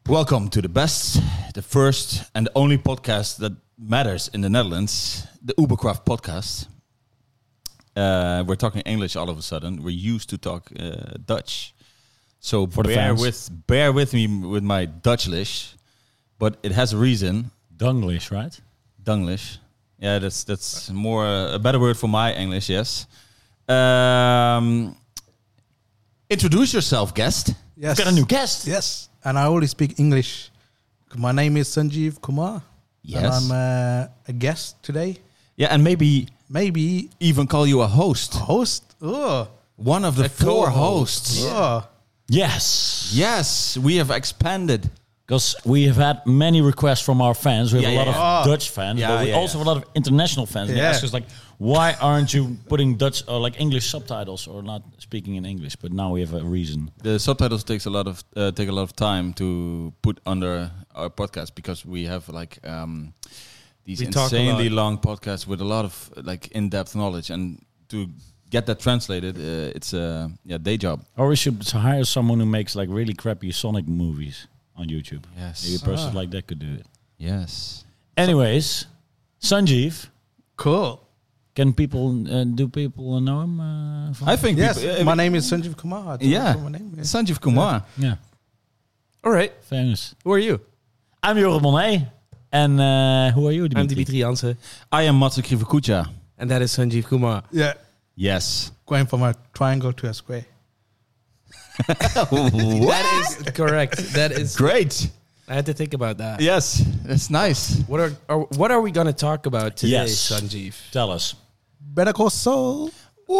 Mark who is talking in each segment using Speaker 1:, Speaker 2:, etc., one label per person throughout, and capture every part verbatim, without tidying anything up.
Speaker 1: Welcome to the best, the first and the only podcast that matters in the Netherlands, the Ubercraft podcast. Uh, we're talking English all of a sudden. We're used to talk uh, Dutch. So
Speaker 2: For the
Speaker 1: bear
Speaker 2: fans.
Speaker 1: with bear with me with my Dutchlish, but it has a reason.
Speaker 2: Dunglish, right?
Speaker 1: Dunglish. Yeah, that's that's more uh, a better word for my English, yes. Um, introduce yourself, guest.
Speaker 3: Yes.
Speaker 2: Got a new guest.
Speaker 3: Yes. And I only speak English. My name is Sanjeev Kumar.
Speaker 1: Yes.
Speaker 3: And I'm uh, a guest today.
Speaker 1: Yeah, and maybe
Speaker 3: Maybe
Speaker 1: even call you a host.
Speaker 3: a host. Oh.
Speaker 1: One of the
Speaker 4: A
Speaker 1: four
Speaker 4: co-host.
Speaker 1: hosts.
Speaker 3: Oh.
Speaker 2: Yes.
Speaker 1: Yes, we have expanded.
Speaker 2: Because we have had many requests from our fans. We have
Speaker 1: Yeah,
Speaker 2: a lot
Speaker 1: yeah,
Speaker 2: of
Speaker 3: yeah.
Speaker 2: Dutch fans,
Speaker 1: Yeah,
Speaker 2: but we
Speaker 1: yeah,
Speaker 2: also
Speaker 1: yeah.
Speaker 2: have a lot of international fans. They
Speaker 3: Yeah.
Speaker 2: ask us like, why aren't you putting Dutch or like English subtitles or not speaking in English? But now we have a reason.
Speaker 1: The subtitles takes a lot of uh, take a lot of time to put under our podcast because we have like um, these
Speaker 4: We talk a
Speaker 1: insanely
Speaker 4: lot.
Speaker 1: long podcasts with a lot of like in-depth knowledge, and to get that translated, uh, it's a yeah day job.
Speaker 2: Or we should hire someone who makes like really crappy Sonic movies on YouTube.
Speaker 1: Yes.
Speaker 2: Maybe a person like that could do it.
Speaker 1: Yes.
Speaker 2: Anyways, Sanjeev,
Speaker 3: Cool.
Speaker 2: can people uh, do people know him? Uh, from-
Speaker 1: I think
Speaker 3: Yes.
Speaker 1: people, uh,
Speaker 3: my name is Sanjeev Kumar. I don't
Speaker 1: yeah,
Speaker 3: know my name. Yeah.
Speaker 1: Sanjeev Kumar.
Speaker 2: yeah,
Speaker 4: All right.
Speaker 2: famous.
Speaker 4: Who are you?
Speaker 2: I'm Jorrit Monet. And uh, who are you, Dimitri?
Speaker 4: I'm Dimitri Jansen.
Speaker 1: I am Matsu Krivakucha.
Speaker 4: And that is Sanjeev Kumar.
Speaker 3: Yeah.
Speaker 1: Yes.
Speaker 3: Going from a triangle to a square.
Speaker 4: That is correct. That is
Speaker 1: Great.
Speaker 4: I had to think about that.
Speaker 1: Yes, that's nice.
Speaker 4: What are, are what are we going to talk about today,
Speaker 2: Yes.
Speaker 4: Sanjeev?
Speaker 2: Tell us.
Speaker 3: Better Call Saul.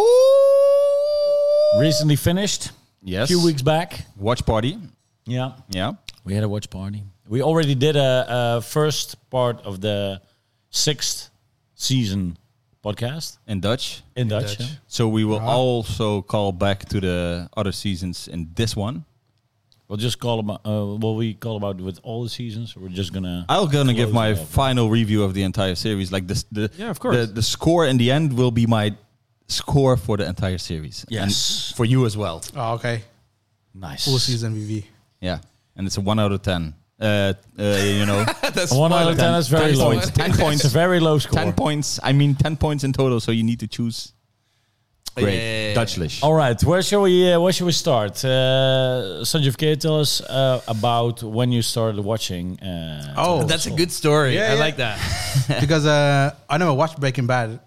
Speaker 2: Recently finished.
Speaker 1: Yes.
Speaker 2: A few weeks back.
Speaker 1: Watch party.
Speaker 2: Yeah.
Speaker 1: Yeah.
Speaker 2: We had a watch party. We already did a, a first part of the sixth season podcast
Speaker 1: In Dutch.
Speaker 2: in Dutch.
Speaker 4: Dutch.
Speaker 2: yeah.
Speaker 1: So we will also call back to the other seasons in this one.
Speaker 2: We'll just call about. Uh, will we call about with all the seasons? Or we're just gonna.
Speaker 1: I'm gonna give
Speaker 2: close
Speaker 1: my
Speaker 2: it up?
Speaker 1: final review of the entire series. Like this, the
Speaker 4: Yeah, of course.
Speaker 1: The, the score in the end will be my score for the entire series.
Speaker 2: Yes.
Speaker 1: And for you as well.
Speaker 3: Oh, okay.
Speaker 2: Nice.
Speaker 3: Full season V V.
Speaker 1: Yeah, and it's a one out of ten. Uh, uh, you know,
Speaker 4: That's
Speaker 2: One out of ten is very
Speaker 1: ten
Speaker 2: low.
Speaker 1: points. Ten points.
Speaker 2: It's a very low score.
Speaker 1: Ten points. I mean, ten points in total. So you need to choose. Great,
Speaker 4: Yeah.
Speaker 1: Dutchlish.
Speaker 2: All right, where shall we? Uh, where shall we start? Uh, Sanjeev, can you tell us uh, about when you started watching? Uh,
Speaker 3: Oh.
Speaker 4: That's a good story.
Speaker 3: Yeah,
Speaker 4: I
Speaker 3: yeah.
Speaker 4: like that.
Speaker 3: because uh, I never watched Breaking Bad.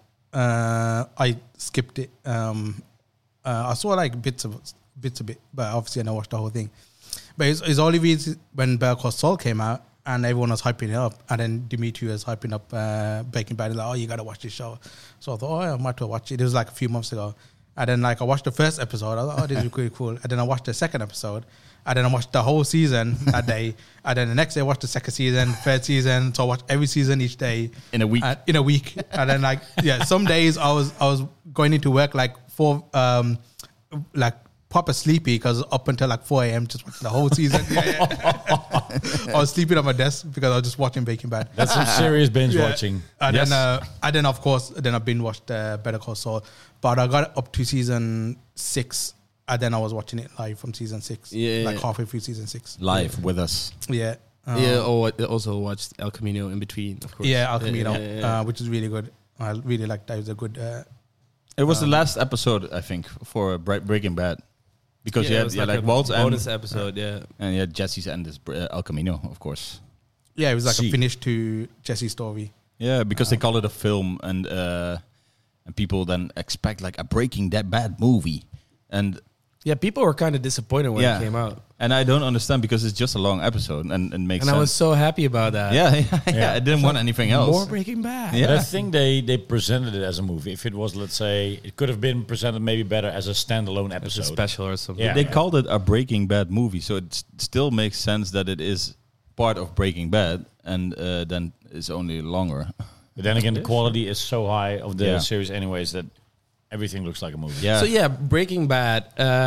Speaker 3: Uh, I skipped it. Um, uh, I saw like bits of bits of it, but obviously I never watched the whole thing. But it's, it's only reason when Better Call Saul came out and everyone was hyping it up, and then Dimitri was hyping up uh, Breaking Bad. Like, oh, you gotta watch this show. So I thought, oh, yeah, I might well watch it. It was like a few months ago, and then like I watched the first episode. I thought, oh, this is really cool. And then I watched the second episode. And then I watched the whole season that day. And then the next day I watched the second season, third season. So I watched every season each day.
Speaker 1: In a week.
Speaker 3: Uh, in a week. And then like, yeah, some days I was I was going into work like four, um, like proper sleepy because up until like four a.m. just watching the whole season. Yeah, yeah. I was sleeping on my desk because I was just watching Breaking Bad.
Speaker 2: That's some serious binge
Speaker 3: Yeah.
Speaker 2: watching.
Speaker 3: And
Speaker 1: Yes.
Speaker 3: then, uh, and then of course, then I binge watched uh, Better Call Saul. But I got up to season six. And then I was watching it live from season six.
Speaker 4: Yeah.
Speaker 3: Like halfway through season six.
Speaker 1: Live with us.
Speaker 3: Yeah. Um,
Speaker 4: yeah. Oh, I also watched El Camino in between, of course.
Speaker 3: Yeah, Al Camino,
Speaker 4: Yeah, yeah, yeah.
Speaker 3: Uh, which is really good. I really like that. It was a good. Uh,
Speaker 1: It was
Speaker 3: Um,
Speaker 1: the last episode, I think, for Bre- Breaking Bad, because
Speaker 4: Yeah,
Speaker 1: you
Speaker 4: it
Speaker 1: had
Speaker 4: was
Speaker 1: yeah, like,
Speaker 4: a
Speaker 1: Walt's end,
Speaker 4: bonus episode. Yeah.
Speaker 1: and you had Jesse's end is uh, El Camino, of course.
Speaker 3: yeah, it was like
Speaker 2: See.
Speaker 3: a finish to Jesse's story.
Speaker 1: Yeah, because they call it a film, and uh, and people then expect like a Breaking that Bad movie, and
Speaker 4: Yeah, people were kind of disappointed when
Speaker 1: Yeah.
Speaker 4: it came out,
Speaker 1: and I don't understand because it's just a long episode and, and makes
Speaker 4: and I was
Speaker 1: sense.
Speaker 4: so happy about that.
Speaker 1: yeah, yeah, yeah,
Speaker 2: Yeah.
Speaker 1: I didn't want anything else.
Speaker 4: More Breaking Bad.
Speaker 1: Yeah.
Speaker 2: But I think they, they presented it as a movie. If it was, let's say, it could have been presented maybe better as a standalone
Speaker 4: It's
Speaker 2: episode.
Speaker 4: a special or something.
Speaker 2: Yeah.
Speaker 1: They called it a Breaking Bad movie, so it s- still makes sense that it is part of Breaking Bad, and uh, then it's only longer.
Speaker 2: But then again, the quality is so high of the
Speaker 1: Yeah.
Speaker 2: series anyways that everything looks like a movie.
Speaker 1: Yeah.
Speaker 4: So yeah, Breaking Bad.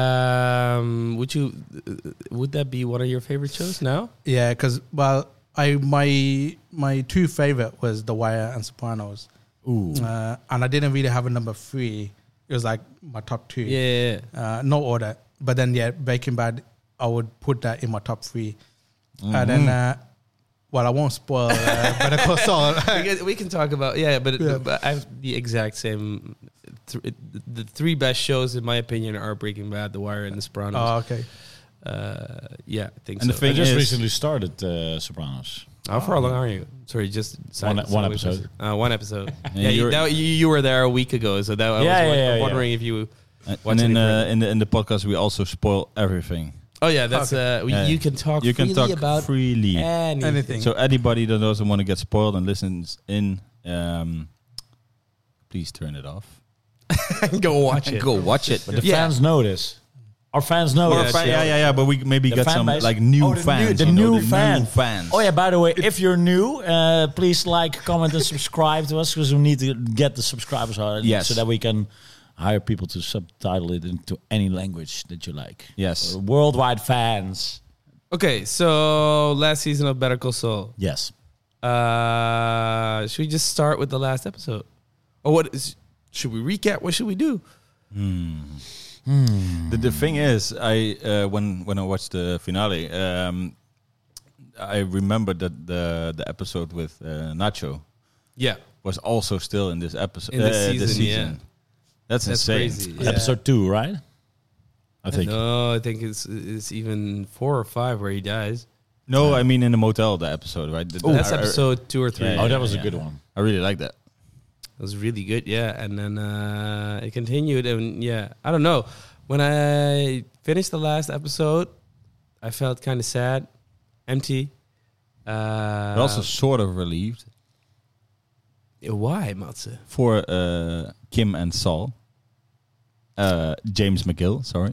Speaker 4: Um, would you? Uh, would that be one of your favorite shows now?
Speaker 3: Yeah, because well, I my my two favorite was The Wire and Sopranos.
Speaker 2: Ooh.
Speaker 3: Uh, and I didn't really have a number three. It was like my top two.
Speaker 4: Yeah.
Speaker 3: Uh, no order. But then, yeah, Breaking Bad, I would put that in my top three. And then, uh, well, I won't spoil uh, Better Call Saul.
Speaker 4: we, can, we can talk about yeah, but,
Speaker 3: Yeah.
Speaker 4: but I have the exact same. Th- the three best shows, in my opinion, are Breaking Bad, The Wire, and The Sopranos.
Speaker 3: Oh, okay.
Speaker 4: Uh, yeah, I think
Speaker 1: And
Speaker 4: so.
Speaker 1: the thing
Speaker 2: I just
Speaker 1: is-
Speaker 2: recently started uh, Sopranos.
Speaker 4: How far along are you? Sorry, just
Speaker 2: One-
Speaker 4: side-
Speaker 2: one
Speaker 4: side-
Speaker 2: episode.
Speaker 4: Uh, one episode.
Speaker 1: Yeah,
Speaker 4: yeah, you,
Speaker 1: you're-
Speaker 4: that, you, you were there a week ago, so that I was
Speaker 2: Yeah,
Speaker 4: wa-
Speaker 2: yeah, yeah,
Speaker 4: wondering if you.
Speaker 1: And
Speaker 4: What's
Speaker 1: in,
Speaker 4: any
Speaker 1: uh,
Speaker 4: further?
Speaker 1: in the in the podcast, we also spoil everything.
Speaker 4: Oh yeah, that's uh, we,
Speaker 1: Yeah.
Speaker 4: you can talk.
Speaker 1: You can
Speaker 4: freely
Speaker 1: talk
Speaker 4: about
Speaker 1: freely.
Speaker 4: anything.
Speaker 3: Anything.
Speaker 1: So anybody that doesn't want to get spoiled and listens in, um, please turn it off.
Speaker 4: Go watch it.
Speaker 1: Go watch it.
Speaker 2: But the
Speaker 4: Yeah.
Speaker 2: fans know this. Our fans know
Speaker 1: Or
Speaker 2: this.
Speaker 1: fa- yeah, yeah, yeah. But we maybe
Speaker 2: The
Speaker 1: get
Speaker 2: fan
Speaker 1: some
Speaker 2: base?
Speaker 1: like new
Speaker 2: Oh, the new-
Speaker 1: fans.
Speaker 2: the
Speaker 1: you know,
Speaker 2: new
Speaker 1: the
Speaker 2: fan.
Speaker 1: new fans.
Speaker 2: Oh yeah, by the way, if you're new, uh, please like, comment, and subscribe to us because we need to get the subscribers on it
Speaker 1: Yes.
Speaker 2: so that we can hire people to subtitle it into any language that you like.
Speaker 1: Yes.
Speaker 2: Uh, worldwide fans.
Speaker 4: Okay, so last season of Better Call Saul.
Speaker 2: Yes.
Speaker 4: Uh, should we just start with the last episode, or what? Is, should we recap? What should we do?
Speaker 1: The, the thing is, I uh, when when I watched the finale, um, I remembered that the the episode with uh, Nacho
Speaker 4: Yeah,
Speaker 1: was also still in this episode.
Speaker 4: In this
Speaker 1: uh,
Speaker 4: season, yeah.
Speaker 1: That's,
Speaker 4: that's
Speaker 1: insane.
Speaker 4: crazy. Yeah.
Speaker 2: Episode two, right? I think.
Speaker 4: No, I think it's it's even four or five where he dies.
Speaker 1: No, I mean in the motel, the episode, right? The-
Speaker 4: Oh,
Speaker 1: the-
Speaker 4: that's
Speaker 1: I-
Speaker 4: episode two or three.
Speaker 1: Yeah,
Speaker 2: oh,
Speaker 1: yeah,
Speaker 2: that was
Speaker 1: yeah.
Speaker 2: a good one.
Speaker 1: I really like that.
Speaker 4: It was really good, yeah. And then uh, it continued, and yeah, I don't know. When I finished the last episode, I felt kind of sad, empty. Uh,
Speaker 1: But also sort of relieved
Speaker 4: why, Matze?
Speaker 1: for uh, Kim and Saul. Uh, James McGill, sorry.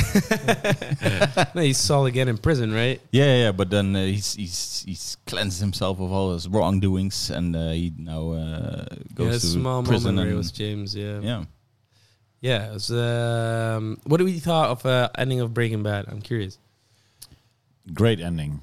Speaker 4: No, he saw again in prison, right?
Speaker 1: Yeah, yeah, yeah, but then uh, he's he's he's cleansed himself of all his wrongdoings, and uh, he now uh, goes
Speaker 4: Yeah, a
Speaker 1: to
Speaker 4: small
Speaker 1: prison.
Speaker 4: moment where it
Speaker 1: and,
Speaker 4: was James, yeah.
Speaker 1: yeah,
Speaker 4: Yeah, it was, um, what do we thought of uh, ending of Breaking Bad? I'm curious.
Speaker 2: Great ending.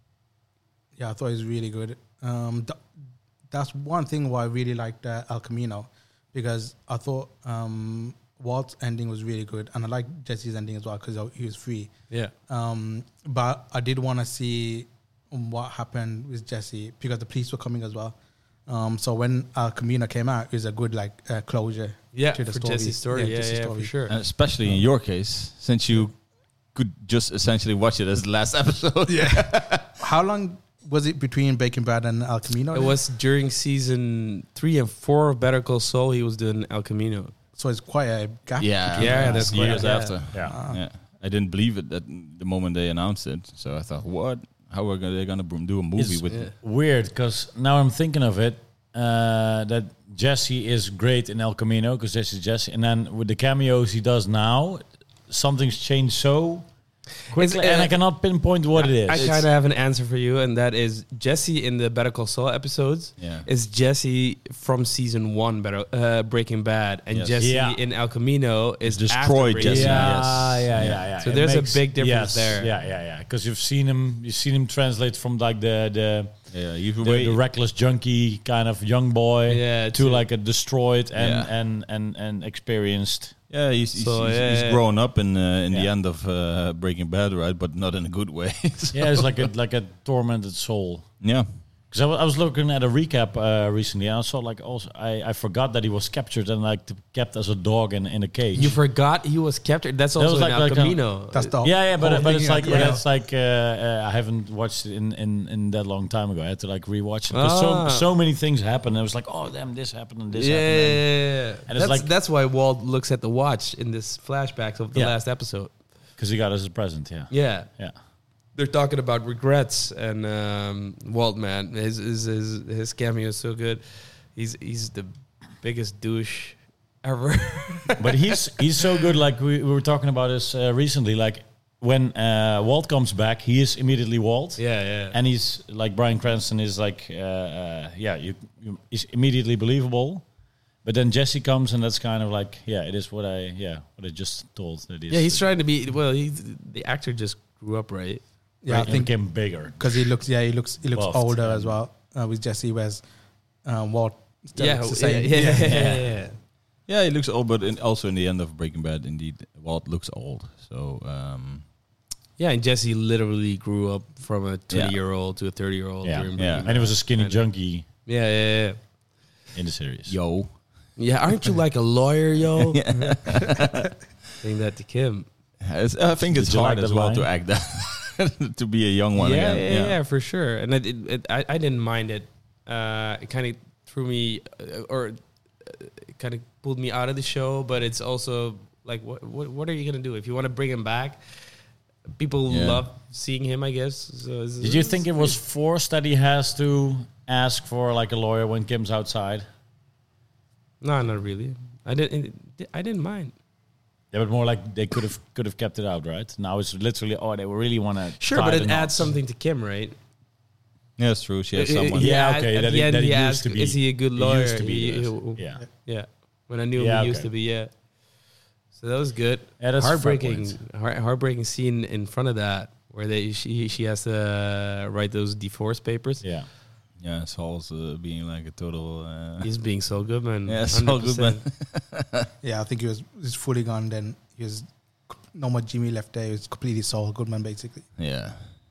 Speaker 3: Yeah, I thought it was really good. Um, th- that's one thing why I really liked uh, El Camino, because I thought um, Walt's ending was really good, and I liked Jesse's ending as well because he was free.
Speaker 4: Yeah.
Speaker 3: Um, but I did want to see what happened with Jesse because the police were coming as well. Um, so when El Camino came out, it was a good like uh, closure
Speaker 4: Yeah,
Speaker 3: to the
Speaker 4: for
Speaker 3: story.
Speaker 4: Jesse's story. Yeah,
Speaker 3: Jesse's
Speaker 4: yeah,
Speaker 3: story.
Speaker 4: for sure.
Speaker 1: and especially in your case, since you could just essentially watch it as the last episode. Yeah,
Speaker 3: How long was it between Breaking Bad and El Camino?
Speaker 4: It was during season three and four of Better Call Saul. He was doing El Camino.
Speaker 3: So it's quite a gap.
Speaker 1: yeah,
Speaker 4: Yeah, that's quite-
Speaker 1: years
Speaker 4: yeah.
Speaker 1: after.
Speaker 2: Yeah.
Speaker 3: Ah.
Speaker 1: Yeah, I didn't believe it at the moment they announced it. So I thought, what? How are they going to do a movie
Speaker 2: It's-
Speaker 1: with?
Speaker 4: yeah.
Speaker 2: Weird, because now I'm thinking of it, uh, that Jesse is great in El Camino, because Jesse's Jesse, and then with the cameos he does now, something's changed so quickly,
Speaker 4: It's, uh,
Speaker 2: and I cannot pinpoint what it is.
Speaker 4: I kind of have an answer for you, and that is Jesse in the Better Call Saul episodes
Speaker 1: Yeah.
Speaker 4: is Jesse from season one, Better uh, Breaking Bad, and
Speaker 1: Yes.
Speaker 4: Jesse
Speaker 2: Yeah.
Speaker 4: in El Camino is
Speaker 1: Destroyed
Speaker 4: after Breaking
Speaker 1: Jesse.
Speaker 2: yeah,
Speaker 4: Bad.
Speaker 1: yes.
Speaker 2: yeah, yeah,
Speaker 1: Yeah.
Speaker 2: yeah.
Speaker 4: So
Speaker 2: It
Speaker 4: there's a big difference
Speaker 2: yes,
Speaker 4: there.
Speaker 2: Yeah, yeah, yeah. Because you've seen him, you've seen him translate from like the the
Speaker 1: Yeah, you
Speaker 2: the, the reckless junkie kind of young boy
Speaker 4: Yeah,
Speaker 2: to
Speaker 4: to-
Speaker 2: like a destroyed and
Speaker 1: Yeah.
Speaker 2: and and and experienced.
Speaker 1: Yeah, he's he's,
Speaker 4: So,
Speaker 1: he's,
Speaker 4: yeah,
Speaker 1: he's
Speaker 4: yeah.
Speaker 1: grown up in uh, in the
Speaker 2: Yeah.
Speaker 1: end of uh, Breaking Bad, right? But not in a good way. So-
Speaker 2: Yeah, it's like a like a tormented soul.
Speaker 1: yeah.
Speaker 2: Because I, wa- I was looking at a recap uh, recently, and I saw like also I, I forgot that he was captured and like t- kept as a dog in, in a cage.
Speaker 4: You forgot he was captured. That's
Speaker 2: That
Speaker 4: also
Speaker 2: was
Speaker 4: in
Speaker 2: like-
Speaker 4: El
Speaker 2: like a-
Speaker 4: Camino.
Speaker 3: That's the
Speaker 2: yeah, yeah, but
Speaker 3: whole
Speaker 2: but
Speaker 3: thing,
Speaker 2: it's
Speaker 3: yeah,
Speaker 2: like
Speaker 3: yeah.
Speaker 2: that's like uh, uh, I haven't watched it in, in, in that long time ago. I had to like rewatch it because
Speaker 4: Ah.
Speaker 2: so so many things happened. I was like, oh damn, this happened and this
Speaker 4: yeah,
Speaker 2: happened. And,
Speaker 4: yeah, yeah.
Speaker 2: and it's
Speaker 4: that's,
Speaker 2: like-
Speaker 4: that's why Walt looks at the watch in this flashbacks of the
Speaker 2: Yeah.
Speaker 4: last episode.
Speaker 2: Because he got us a present, yeah,
Speaker 4: Yeah,
Speaker 2: yeah.
Speaker 4: they're talking about regrets, and um, Walt, man, his, his his his cameo is so good. He's he's the biggest douche ever.
Speaker 2: But he's he's so good. Like we, we were talking about this uh, recently. Like when uh, Walt comes back, he is immediately Walt.
Speaker 4: yeah, yeah.
Speaker 2: And he's like Bryan Cranston is like, uh, uh, yeah, you, you is immediately believable. But then Jesse comes, and that's kind of like, yeah, it is what I, yeah, what I just told. That is
Speaker 4: yeah, he's trying to be. Well, he's the actor just grew up, right?
Speaker 3: Yeah,
Speaker 2: right,
Speaker 3: I think
Speaker 2: became bigger.
Speaker 3: because he looks, yeah, he looks, he looks
Speaker 2: Buffed.
Speaker 3: older as well uh, with Jesse, whereas um, Walt still
Speaker 4: Yeah,
Speaker 3: looks the
Speaker 4: yeah,
Speaker 3: same.
Speaker 4: yeah, yeah, yeah, yeah.
Speaker 1: Yeah, he looks old, but in, also in the end of Breaking Bad, indeed, Walt looks old. So um,
Speaker 4: Yeah, and Jesse literally grew up from a twenty-year-old to a thirty-year-old.
Speaker 2: Yeah,
Speaker 4: during
Speaker 1: yeah.
Speaker 4: Breaking
Speaker 2: And he was a skinny
Speaker 4: Bad.
Speaker 2: junkie
Speaker 4: Yeah, yeah, yeah.
Speaker 2: in the series.
Speaker 1: Yo.
Speaker 4: Yeah, aren't you like a lawyer, yo? Saying that to Kim.
Speaker 1: It's, I think
Speaker 2: Did
Speaker 1: it's
Speaker 2: you
Speaker 1: hard
Speaker 2: like
Speaker 1: as
Speaker 2: that
Speaker 1: well
Speaker 2: line?
Speaker 1: to act that. To be a young one
Speaker 4: yeah,
Speaker 1: again.
Speaker 4: yeah, yeah, for sure. And it, it, it, I, I didn't mind it. Uh, it kind of threw me, uh, or uh, it kind of pulled me out of the show. But it's also like, what, what, what are you gonna do if you want to bring him back? People
Speaker 1: Yeah.
Speaker 4: love seeing him, I guess. So it's,
Speaker 2: Did you think it was forced that he has to ask for like a lawyer when Kim's outside?
Speaker 4: No, not really. I didn't. I didn't mind.
Speaker 2: Yeah, but more like they could have could have kept it out, right? Now it's literally, oh, they really want to.
Speaker 4: Sure, but it adds something to Kim, right?
Speaker 1: Yeah, that's true. She has
Speaker 4: Uh, uh,
Speaker 1: someone.
Speaker 2: Yeah,
Speaker 4: at-
Speaker 2: okay,
Speaker 4: At,
Speaker 2: that
Speaker 4: the
Speaker 2: he-
Speaker 4: end,
Speaker 2: that he
Speaker 4: he
Speaker 2: used
Speaker 4: asked,
Speaker 2: to be.
Speaker 4: "Is he a good
Speaker 2: He
Speaker 4: lawyer?"
Speaker 2: used to be
Speaker 4: He-
Speaker 2: this.
Speaker 4: he-
Speaker 2: Yeah.
Speaker 4: yeah. When I knew
Speaker 2: Yeah,
Speaker 4: him, he used
Speaker 2: okay.
Speaker 4: to be. Yeah. So that was good.
Speaker 2: Yeah, that's a fair
Speaker 4: heartbreaking,
Speaker 2: point.
Speaker 4: heart, heartbreaking scene in front of that where they she she has to write those divorce papers.
Speaker 2: Yeah.
Speaker 1: Yeah, Saul's uh, being like a total. Uh,
Speaker 4: He's being so good, man.
Speaker 1: yeah, so good, man.
Speaker 4: one hundred percent.
Speaker 3: Yeah, I think he was he's fully gone. Then he was no more Jimmy left there. He was completely Saul Goodman, basically.
Speaker 1: Yeah.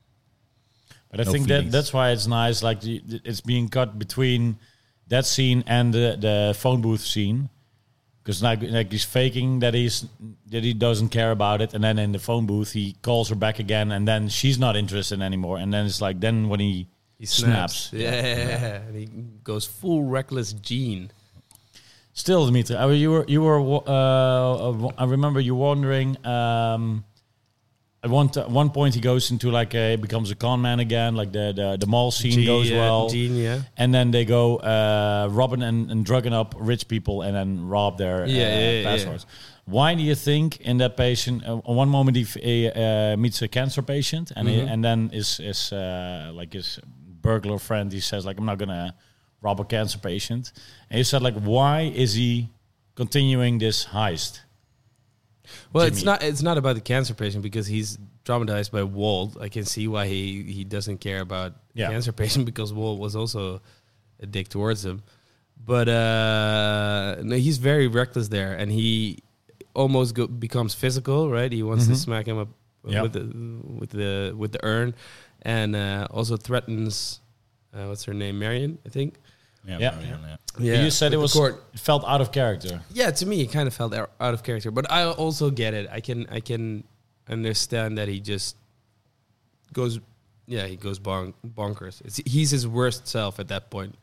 Speaker 2: But I
Speaker 1: No
Speaker 2: think that
Speaker 1: feelings.
Speaker 2: that's why it's nice. Like the, the- it's being cut between that scene and the, the phone booth scene, because like, like he's faking that he's that he doesn't care about it, and then in the phone booth he calls her back again, and then she's not interested anymore, and then it's like then when he,
Speaker 4: He
Speaker 2: snaps.
Speaker 4: snaps. Yeah. And he goes full reckless Gene.
Speaker 2: Still, Dimitri, I mean, you were you were. Uh, uh, I remember you wondering. Um, at one t- one point, he goes into like a, he becomes a con man again. Like the the, the mall scene
Speaker 4: G,
Speaker 2: goes
Speaker 4: yeah,
Speaker 2: well,
Speaker 4: Gene, yeah.
Speaker 2: and then they go uh, robbing and, and drugging up rich people, and then rob their uh,
Speaker 4: Yeah, yeah, yeah,
Speaker 2: passwords. Why do you think in that patient? Uh, on one moment, he f- he, uh, meets a cancer patient, and he,
Speaker 4: Mhm.
Speaker 2: and then is is uh, like his burglar friend. He says like, "I'm not gonna rob a cancer patient," and he said like, "Why is he continuing this heist?"
Speaker 4: Well, it's
Speaker 2: Jimmy.
Speaker 4: not it's not about the cancer patient because he's traumatized by Walt. I can see why he, he doesn't care about
Speaker 2: Yeah.
Speaker 4: the cancer patient because Walt was also a dick towards him. But uh, no, he's very reckless there, and he almost go, becomes physical. Right? He wants
Speaker 2: Mhm.
Speaker 4: to smack him up
Speaker 2: Yeah.
Speaker 4: with the with the with the urn, and uh, also threatens uh, what's her name, Marion, I think.
Speaker 1: Yeah.
Speaker 2: Yeah.
Speaker 1: Marion, yeah.
Speaker 2: You said it
Speaker 4: with
Speaker 2: was
Speaker 4: the court.
Speaker 2: it felt out of character.
Speaker 4: Yeah, to me, it kind of felt out out of character, but I also get it. I can I can understand that he just goes, yeah, he goes bon- bonkers. It's, he's his worst self at that point,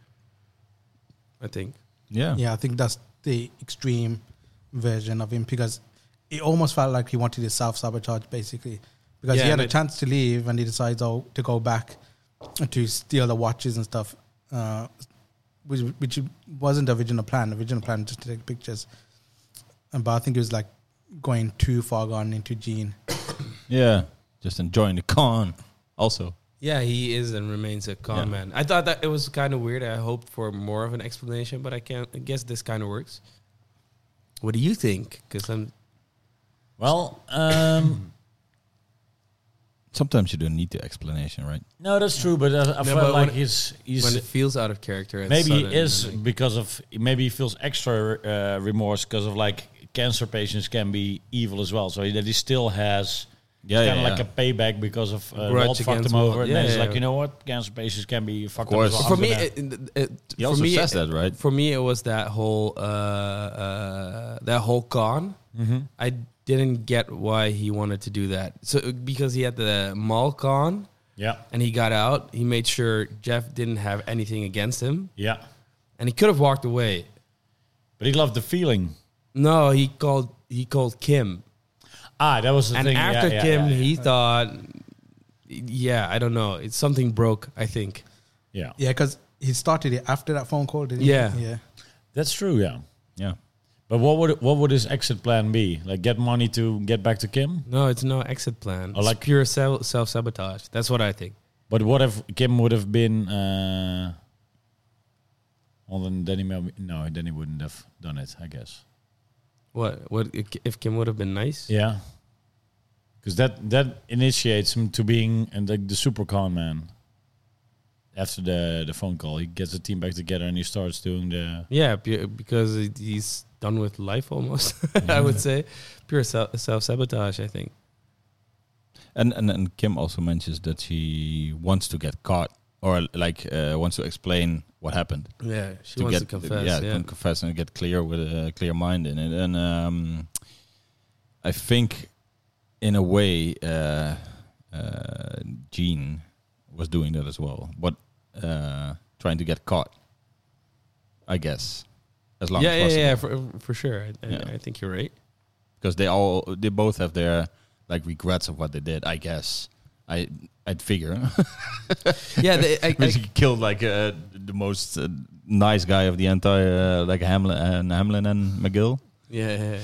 Speaker 4: I think.
Speaker 1: Yeah.
Speaker 3: Yeah, I think that's the extreme version of him because it almost felt like he wanted to self sabotage basically because
Speaker 4: Yeah,
Speaker 3: he had
Speaker 4: and
Speaker 3: a
Speaker 4: it-
Speaker 3: chance to leave and he decides oh, to go back to steal the watches and stuff, uh, which which wasn't the original plan. The original plan was just to take pictures, and but I think it was like going too far gone into Gene.
Speaker 1: Yeah. Just enjoying the con. Also.
Speaker 4: Yeah, he is and remains a con
Speaker 1: Yeah.
Speaker 4: man. I thought that it was kind of weird. I hoped for more of an explanation, but I can't. I guess this kind of works. What do you think? Because I'm.
Speaker 2: Well, um,
Speaker 1: Sometimes you don't need the explanation, right?
Speaker 2: no, that's true, but uh, I
Speaker 4: No,
Speaker 2: felt
Speaker 4: but
Speaker 2: like
Speaker 4: when-
Speaker 2: he's he's
Speaker 4: when it feels out of character, and
Speaker 2: maybe he
Speaker 4: sudden
Speaker 2: is
Speaker 4: and like-
Speaker 2: because of maybe he feels extra uh, remorse because of like cancer patients can be evil as well. So that he still has
Speaker 1: Yeah,
Speaker 2: kind of
Speaker 1: yeah,
Speaker 2: like
Speaker 1: yeah.
Speaker 2: a payback because of uh,
Speaker 4: Grudge
Speaker 2: Walt fucked
Speaker 4: against
Speaker 2: him
Speaker 4: Walt.
Speaker 2: over, and
Speaker 4: Yeah,
Speaker 2: then he's
Speaker 4: yeah,
Speaker 2: like,
Speaker 4: yeah.
Speaker 2: you know what, cancer patients can be fucked
Speaker 1: course.
Speaker 2: up. as well.
Speaker 4: For
Speaker 2: I'm
Speaker 4: me,
Speaker 2: gonna-
Speaker 4: it, it,
Speaker 1: He
Speaker 4: for
Speaker 1: also
Speaker 4: me,
Speaker 1: says that, right?
Speaker 4: For me, it was that whole uh, uh, that whole con.
Speaker 2: Mhm.
Speaker 4: I didn't get why he wanted to do that. So because he had the mall con
Speaker 2: yeah,
Speaker 4: and he got out, he made sure Jeff didn't have anything against him,
Speaker 2: yeah,
Speaker 4: and he could have walked away.
Speaker 2: but he loved the feeling.
Speaker 4: No, he called he called Kim,
Speaker 2: Ah, that was the
Speaker 4: and
Speaker 2: thing.
Speaker 4: after
Speaker 2: yeah, yeah,
Speaker 4: Kim,
Speaker 2: yeah, yeah.
Speaker 4: he thought, yeah, I don't know, it's something broke. I think.
Speaker 2: yeah,
Speaker 3: Yeah, because he started it after that phone call, didn't he?
Speaker 4: Yeah.
Speaker 3: Yeah.
Speaker 2: that's true. Yeah,
Speaker 1: Yeah.
Speaker 2: but what would what would his exit plan be? Like get money to get back to Kim?
Speaker 4: No, it's no exit plan.
Speaker 2: Oh,
Speaker 4: It's
Speaker 2: like-
Speaker 4: pure self self sabotage. That's what I think.
Speaker 2: But what if Kim would have been? Uh, well, then, then he may- no, then he wouldn't have done it. I guess.
Speaker 4: What what if if Kim would have been nice?
Speaker 2: Yeah, because that that initiates him to being and the, the super con man. After the the phone call, he gets the team back together and he starts doing the.
Speaker 4: Yeah, pu- because it- he's done with life almost. I would say pure self sabotage. I think.
Speaker 1: And, and and Kim also mentions that she wants to get caught, or like uh, wants to explain what happened.
Speaker 4: Yeah, she
Speaker 1: to
Speaker 4: wants
Speaker 1: get,
Speaker 4: to confess.
Speaker 1: Yeah,
Speaker 4: Yeah,
Speaker 1: can confess and get clear with a clear mind in it. And um, I think, in a way, uh, uh, Jean was doing that as well, but uh, trying to get caught, I guess, as long
Speaker 4: yeah,
Speaker 1: as
Speaker 4: yeah,
Speaker 1: possible.
Speaker 4: yeah, for, for sure. I, I,
Speaker 1: Yeah.
Speaker 4: I think you're right.
Speaker 1: Because they all, they both have their like regrets of what they did. I guess I, I'd figure.
Speaker 4: Yeah, they, I,
Speaker 1: Because
Speaker 4: I,
Speaker 1: he killed like uh, the most uh, nice guy of the entire, uh, like Hamlin and Hamlin and McGill.
Speaker 4: yeah, yeah,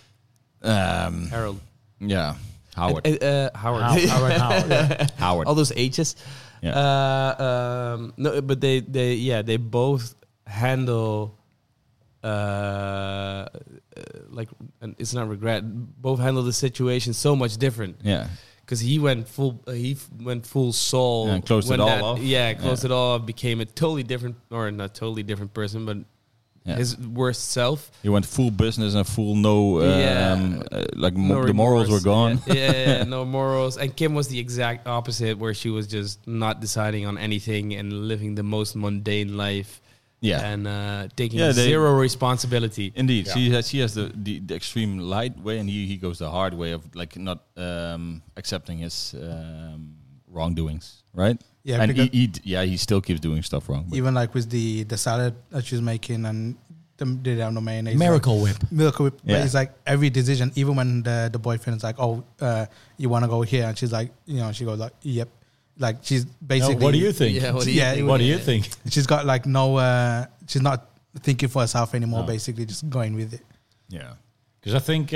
Speaker 4: yeah.
Speaker 1: Um,
Speaker 4: Harold,
Speaker 1: yeah, Howard,
Speaker 4: Uh, uh, Howard,
Speaker 2: How- Howard, Howard.
Speaker 1: Howard.
Speaker 4: all those H's.
Speaker 1: Yeah.
Speaker 4: Uh, um, no, but they, they, yeah, they both handle, uh, uh, like, and it's not regret. Both handle the situation so much different.
Speaker 1: yeah,
Speaker 4: Because he went full, uh, he f- went full soul
Speaker 1: And closed
Speaker 4: when
Speaker 1: it all
Speaker 4: that-
Speaker 1: off.
Speaker 4: Yeah, closed
Speaker 1: Yeah.
Speaker 4: it all off. Became a totally different, or not totally different person, but
Speaker 1: yeah.
Speaker 4: his worst self.
Speaker 1: He went full business and full no, um,
Speaker 4: Yeah.
Speaker 1: uh, like mo-
Speaker 4: No
Speaker 1: the morals were
Speaker 4: remorse.
Speaker 1: gone.
Speaker 4: Yeah, yeah, yeah, no morals. And Kim was the exact opposite, where she was just not deciding on anything and living the most mundane life.
Speaker 1: Yeah,
Speaker 4: And uh, taking
Speaker 1: Yeah, they-
Speaker 4: zero responsibility.
Speaker 1: indeed.
Speaker 2: Yeah.
Speaker 1: She has she has the, the, the extreme light way, and he, he goes the hard way of like not um, accepting his um, wrongdoings, right?
Speaker 3: Yeah,
Speaker 1: and he,
Speaker 3: because
Speaker 1: he d- yeah he still keeps doing stuff wrong. but-
Speaker 3: even like with the the salad that she's making and the, they didn't have no mayonnaise.
Speaker 2: Miracle Whip.
Speaker 3: Like, Miracle Whip.
Speaker 1: Yeah.
Speaker 3: But it's like every decision, even when the the boyfriend is like, "Oh, uh, you want to go here?" and she's like, you know, she goes like, "Yep." Like she's basically.
Speaker 2: No, what do you think?
Speaker 4: Yeah, what do you
Speaker 3: Yeah,
Speaker 4: think?
Speaker 2: What do you
Speaker 4: Yeah.
Speaker 2: think?
Speaker 3: She's got like no. Uh, she's not thinking for herself anymore.
Speaker 2: No.
Speaker 3: Basically, just going with it.
Speaker 1: yeah,
Speaker 2: Because I think, uh,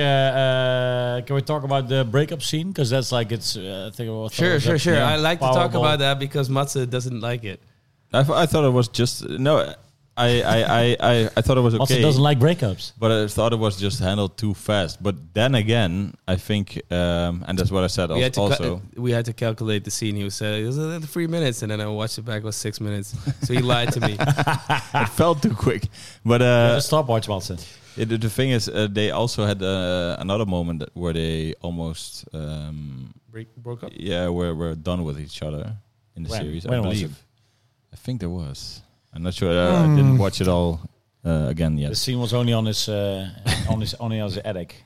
Speaker 2: uh, can we talk about the breakup scene? Because that's like it's. Uh, I think it was
Speaker 4: Sure, sure, sure.
Speaker 1: Yeah.
Speaker 4: I like to talk
Speaker 2: Powerball.
Speaker 4: about that because Matze doesn't like it.
Speaker 1: I, th- I thought it was just no. I I, I, I, I thought it was
Speaker 2: Also
Speaker 1: okay,
Speaker 2: doesn't like breakups.
Speaker 1: but I thought it was just handled too fast. But then again, I think, um, and that's what I said
Speaker 4: We had, to
Speaker 1: also.
Speaker 4: cu- we had to calculate the scene. He was saying it was uh, three minutes, and then I watched it back. It was six minutes. So he lied to me.
Speaker 1: It felt too quick. But uh,
Speaker 2: Uh, stopwatch, Watson.
Speaker 1: it, the thing is, uh, they also had uh, another moment that- where they almost, um,
Speaker 4: Break, broke up.
Speaker 1: yeah, were were done with each other in the
Speaker 2: When?
Speaker 1: series.
Speaker 2: When
Speaker 1: I
Speaker 2: was
Speaker 1: believe. I think there was. I'm not sure. Uh, I didn't watch it all uh, again yet.
Speaker 2: The scene was only on his, uh, on his, only on his attic.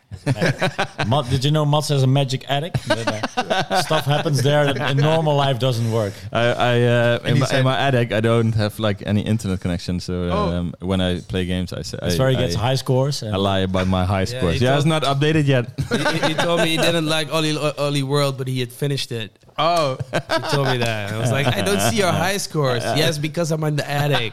Speaker 2: Mat, did you know Mats has a magic attic? That, uh, stuff happens there that in normal life doesn't work.
Speaker 1: I, I uh,
Speaker 3: And
Speaker 1: in,
Speaker 3: he
Speaker 1: my,
Speaker 3: said-
Speaker 1: in my attic, I don't have like any internet connection. So
Speaker 3: Oh.
Speaker 1: um, when I play games, I say
Speaker 2: That's
Speaker 1: I,
Speaker 2: where he
Speaker 1: I,
Speaker 2: gets high scores. And
Speaker 1: I lie about my high
Speaker 4: Yeah,
Speaker 1: scores.
Speaker 4: he
Speaker 1: Yeah, it's
Speaker 4: told-
Speaker 1: not updated yet.
Speaker 4: he, he- he told me he didn't like Ollie, Ollie World, but he had finished it.
Speaker 3: Oh,
Speaker 4: He told me that. I was like, I don't see your high scores. Yes, because I'm in the attic.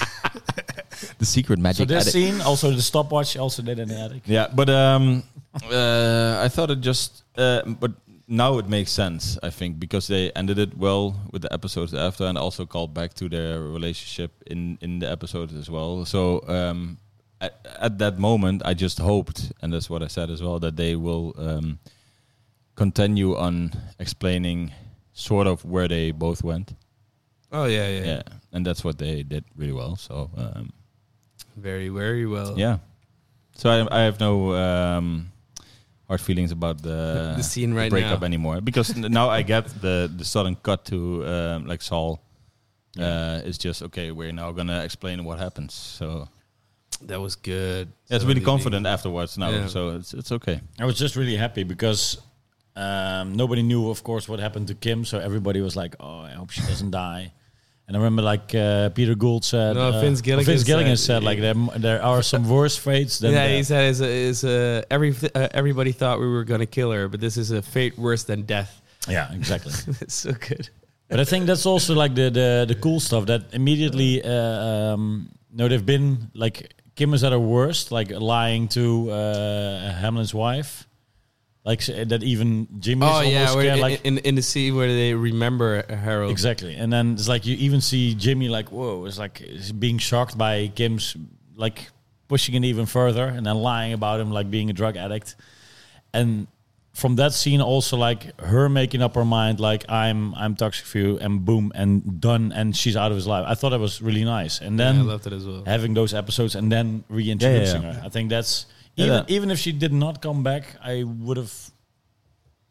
Speaker 1: The secret
Speaker 2: so
Speaker 1: magic
Speaker 2: this
Speaker 1: attic.
Speaker 2: scene, also the stopwatch, also did in the attic.
Speaker 1: Yeah, but um, uh, I thought it just. Uh, but now it makes sense, I think, because they ended it well with the episodes after, and also called back to their relationship in in the episodes as well. So um, at, at that moment, I just hoped, and that's what I said as well, that they will um, continue on explaining sort of where they both went.
Speaker 4: Oh, yeah, yeah.
Speaker 1: Yeah, and that's what they did really well. So. Um,
Speaker 4: Very, very well.
Speaker 1: Yeah. So I, I have no um, hard feelings about the,
Speaker 4: The scene right
Speaker 1: breakup
Speaker 4: now.
Speaker 1: anymore because n- now I get the the sudden cut to um, like Saul. Uh, it's just okay. We're now gonna explain what happens. So
Speaker 4: That was good.
Speaker 1: yeah, it's
Speaker 4: So
Speaker 1: really
Speaker 4: the-
Speaker 1: confident afterwards now.
Speaker 4: Yeah.
Speaker 1: So it's it's okay.
Speaker 2: I was just really happy because um, nobody knew, of course, what happened to Kim. So everybody was like, "Oh, I hope she doesn't die." And I remember, like uh, Peter Gould said,
Speaker 4: No,
Speaker 2: uh,
Speaker 4: Vince Gilligan
Speaker 2: Vince Gilligan
Speaker 4: said-
Speaker 2: said, like there m- there are some worse fates than
Speaker 4: Yeah,
Speaker 2: death.
Speaker 4: he said is is uh, every uh, everybody thought we were gonna kill her, but this is a fate worse than death.
Speaker 2: Yeah, exactly.
Speaker 4: It's so good.
Speaker 2: But I think that's also like the the, the cool stuff that immediately, uh, um, no, they've been like Kim is at her worst, like lying to uh, Hamlin's wife, like s- that even Jimmy is
Speaker 4: Oh
Speaker 2: almost
Speaker 4: yeah,
Speaker 2: scared,
Speaker 4: where,
Speaker 2: like
Speaker 4: in in the scene where they remember Harold.
Speaker 2: exactly, and then it's like you even see Jimmy like whoa, it's like he's being shocked by Kim's like pushing it even further and then lying about him like being a drug addict, and from that scene also like her making up her mind like I'm I'm toxic for you and boom and done and she's out of his life. I thought that was really nice, and then
Speaker 4: Yeah, I loved it as well.
Speaker 2: having those episodes and then reintroducing
Speaker 1: Yeah, yeah, yeah.
Speaker 2: her. I think that's
Speaker 1: Yeah,
Speaker 2: even
Speaker 1: that-
Speaker 2: even if she did not come back, I would have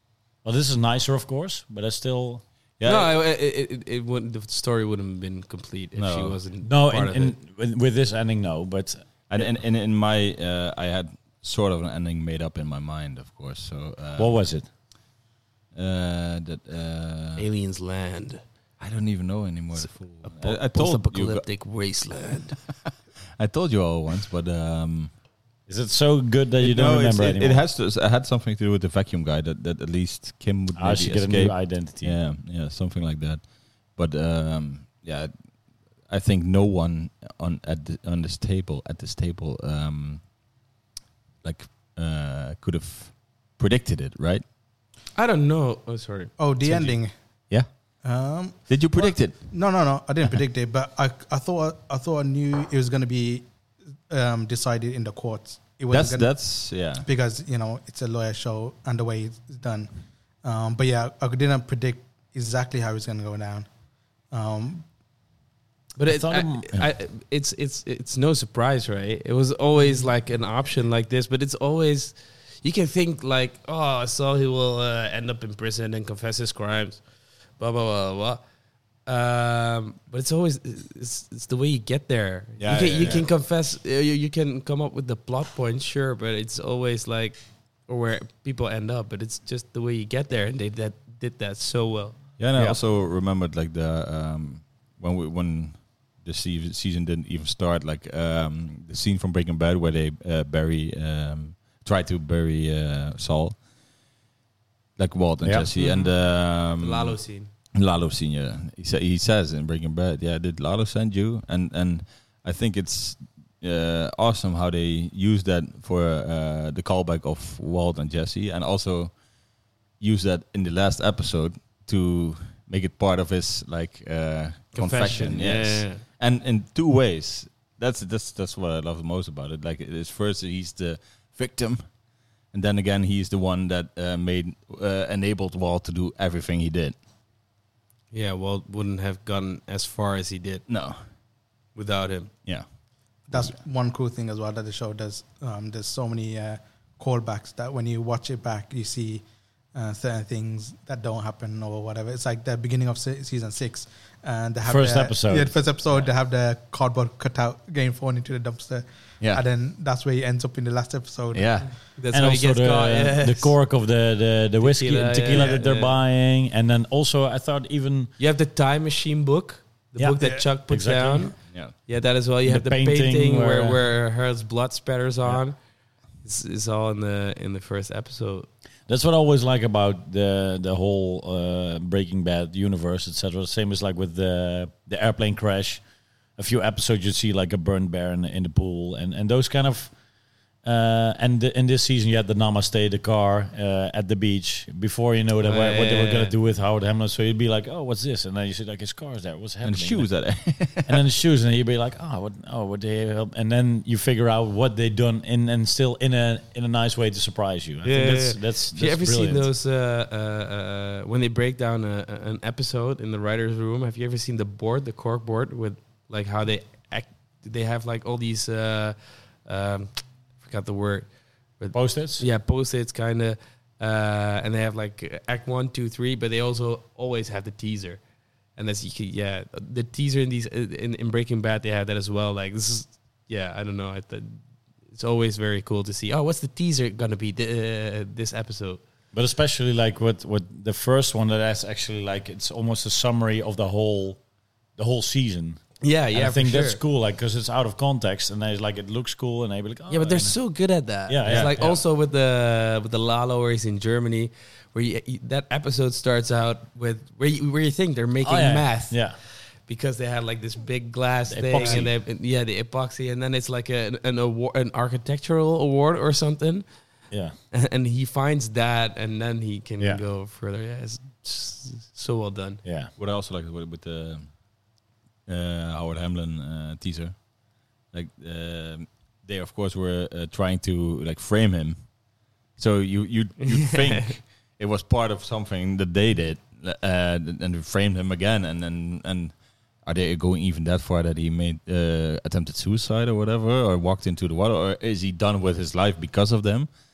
Speaker 2: Well, this is nicer, of course, but I still
Speaker 1: Yeah,
Speaker 4: no, it, it, it, it wouldn't. The story wouldn't have been complete if
Speaker 1: No.
Speaker 4: she wasn't.
Speaker 2: no.
Speaker 4: part
Speaker 2: In,
Speaker 4: of
Speaker 2: in,
Speaker 4: it.
Speaker 2: with- with this ending, no. But
Speaker 1: and in, in in my uh, I had sort of an ending made up in my mind, of course. So uh,
Speaker 2: what was it?
Speaker 1: uh, that uh,
Speaker 4: Aliens Land,
Speaker 1: I don't even know anymore. The full.
Speaker 4: a po-
Speaker 1: I, I told you,
Speaker 4: post-apocalyptic wasteland.
Speaker 1: I told you all once, but um,
Speaker 2: Is it so good that you
Speaker 1: it-
Speaker 2: don't
Speaker 1: no, it's-
Speaker 2: remember
Speaker 1: it,
Speaker 2: anymore?
Speaker 1: it has to. It had something to do with the vacuum guy. That, that at least Kim would
Speaker 2: Ah,
Speaker 1: maybe
Speaker 2: she get a
Speaker 1: escape.
Speaker 2: new identity.
Speaker 1: Yeah, yeah, something like that. But um, yeah, I think no one on at the, on this table at this table um, like uh, could have predicted it, right?
Speaker 4: I don't know. Oh, sorry.
Speaker 3: Oh, the
Speaker 1: Sanji.
Speaker 3: ending.
Speaker 1: Yeah.
Speaker 3: Um,
Speaker 1: Did you predict it?
Speaker 3: no, no, no. I didn't predict it, but I, I thought, I thought I knew it was going to be um, decided in the courts. It
Speaker 1: That's
Speaker 3: gonna,
Speaker 1: that's yeah.
Speaker 3: because you know it's a lawyer show and the way it's done. Um, but yeah, I didn't predict exactly how it's going to go down. Um,
Speaker 4: But
Speaker 2: I
Speaker 4: it,
Speaker 2: thought
Speaker 4: I,
Speaker 2: I'm-
Speaker 4: I, it's it's it's no surprise, right? It was always like an option like this, but it's always you can think like, oh, so he will uh, end up in prison and confess his crimes, blah blah blah blah. Um, but it's always it's, it's the way you get there.
Speaker 1: Yeah,
Speaker 4: you can
Speaker 1: yeah,
Speaker 4: you
Speaker 1: yeah.
Speaker 4: can confess, uh, you, you can come up with the plot points, sure, but it's always like or where people end up. But it's just the way you get there, and they that did that so well.
Speaker 1: Yeah, and I
Speaker 2: Yeah.
Speaker 1: also remembered like the um, when we when the se- season didn't even start, like um, the scene from Breaking Bad where they uh, bury um, try to bury uh, Saul, like Walt and
Speaker 2: Yeah.
Speaker 1: Jesse, and um,
Speaker 4: The Lalo scene.
Speaker 1: Lalo Senior. He sa- he says in Breaking Bad, yeah, did Lalo send you? And and I think it's uh, awesome how they use that for uh, the callback of Walt and Jesse, and also use that in the last episode to make it part of his like uh, confession. Yes,
Speaker 4: Yeah.
Speaker 1: and in two ways. That's that's that's what I love the most about it. Like, it is first he's the victim, and then again he's the one that uh, made uh, enabled Walt to do everything he did.
Speaker 4: Yeah, Walt wouldn't have gone as far as he did
Speaker 1: No,
Speaker 4: without him.
Speaker 1: yeah,
Speaker 3: that's one cool thing as well that the show does. Um, there's so many uh, callbacks that when you watch it back, you see uh, certain things that don't happen or whatever. It's like the beginning of se- season six, and they have
Speaker 2: First
Speaker 3: the,
Speaker 2: episode.
Speaker 3: Yeah, the first episode. They have the cardboard cutout getting thrown into the dumpster.
Speaker 1: yeah,
Speaker 3: And then that's where he ends up in the last episode.
Speaker 1: yeah.
Speaker 4: That's
Speaker 2: and
Speaker 4: how he
Speaker 2: also
Speaker 4: gets
Speaker 2: the,
Speaker 4: caught. Yes.
Speaker 2: the cork of the the, the whiskey
Speaker 4: Tequila,
Speaker 2: and tequila
Speaker 4: yeah,
Speaker 2: that they're
Speaker 4: yeah.
Speaker 2: buying, and then also I thought even
Speaker 4: You have the time machine book, the
Speaker 2: Yeah.
Speaker 4: book that
Speaker 3: Yeah,
Speaker 4: Chuck put
Speaker 2: exactly.
Speaker 4: down.
Speaker 1: Yeah.
Speaker 4: Yeah, that as well. You
Speaker 2: The
Speaker 4: have the
Speaker 2: painting
Speaker 4: painting, where
Speaker 2: where-
Speaker 4: where her blood spatters on. It's, it's all in the in the first episode.
Speaker 2: that's what I always like about the the whole uh, Breaking Bad universe, et cetera. Same as like with the the airplane crash. A few episodes you'd see like a burned bear in, in the pool, and and those kind of. Uh, and the, in this season, you had the Namaste, the car uh, at the beach. Before you know that,
Speaker 4: Oh,
Speaker 2: what, what they were
Speaker 4: yeah.
Speaker 2: gonna do with Howard Hamlin, so you'd be like, "Oh, what's this?" And then you see like his car's there. What's happening?
Speaker 1: And shoes that
Speaker 2: and then the shoes, and you'd be like, "Oh, what? Oh, what they help?" And then you figure out what they done in, and still in a in a nice way to surprise you. I
Speaker 4: Yeah,
Speaker 2: think that's
Speaker 4: yeah.
Speaker 2: that's,
Speaker 4: Have
Speaker 2: that's
Speaker 4: you ever
Speaker 2: brilliant.
Speaker 4: seen those uh, uh, uh, when they break down a, a- an episode in the writers' room? Have you ever seen the board, the cork board, with like how they act? They have like all these. Uh, um, forgot the word.
Speaker 2: Post-its?
Speaker 4: Yeah, post-its kind of, uh, and they have like act one, two, three, but they also always have the teaser, and that's you can, yeah, the teaser in these in, in Breaking Bad they have that as well. Like this is, yeah, I don't know, I th- it's always very cool to see. Oh, what's the teaser gonna be th- uh, this episode?
Speaker 2: But especially like what what the first one, that that's actually like it's almost a summary of the whole the whole season.
Speaker 4: Yeah,
Speaker 2: And
Speaker 4: yeah,
Speaker 2: I think
Speaker 4: for
Speaker 2: that's
Speaker 4: sure.
Speaker 2: cool, like because it's out of context, and there's like it looks cool, and they be like, oh,
Speaker 4: Yeah, but they're
Speaker 2: and-
Speaker 4: so good at that.
Speaker 2: Yeah,
Speaker 4: it's
Speaker 2: yeah,
Speaker 4: like
Speaker 2: yeah.
Speaker 4: also with the with the Lalo where he's in Germany, where you, you- that episode starts out with where you, where you think they're making
Speaker 2: Oh, yeah,
Speaker 4: meth.
Speaker 2: Yeah,
Speaker 4: Because they had like this big glass
Speaker 2: The
Speaker 4: thing,
Speaker 2: epoxy.
Speaker 4: and they have, yeah, the epoxy, and then it's like a, an award, an architectural award or something,
Speaker 2: yeah.
Speaker 4: and, and he finds that, and then he can
Speaker 2: Yeah.
Speaker 4: go further. Yeah, it's just so well done.
Speaker 2: Yeah.
Speaker 1: What I also like with, with the uh, Howard Hamlin uh, teaser, like um they of course were uh, trying to like frame him, so you you you think it was part of something that they did, uh, and they framed him again, and then and are they going even that far that he made uh, attempted suicide or whatever, or walked into the water, or is he done with his life because of them?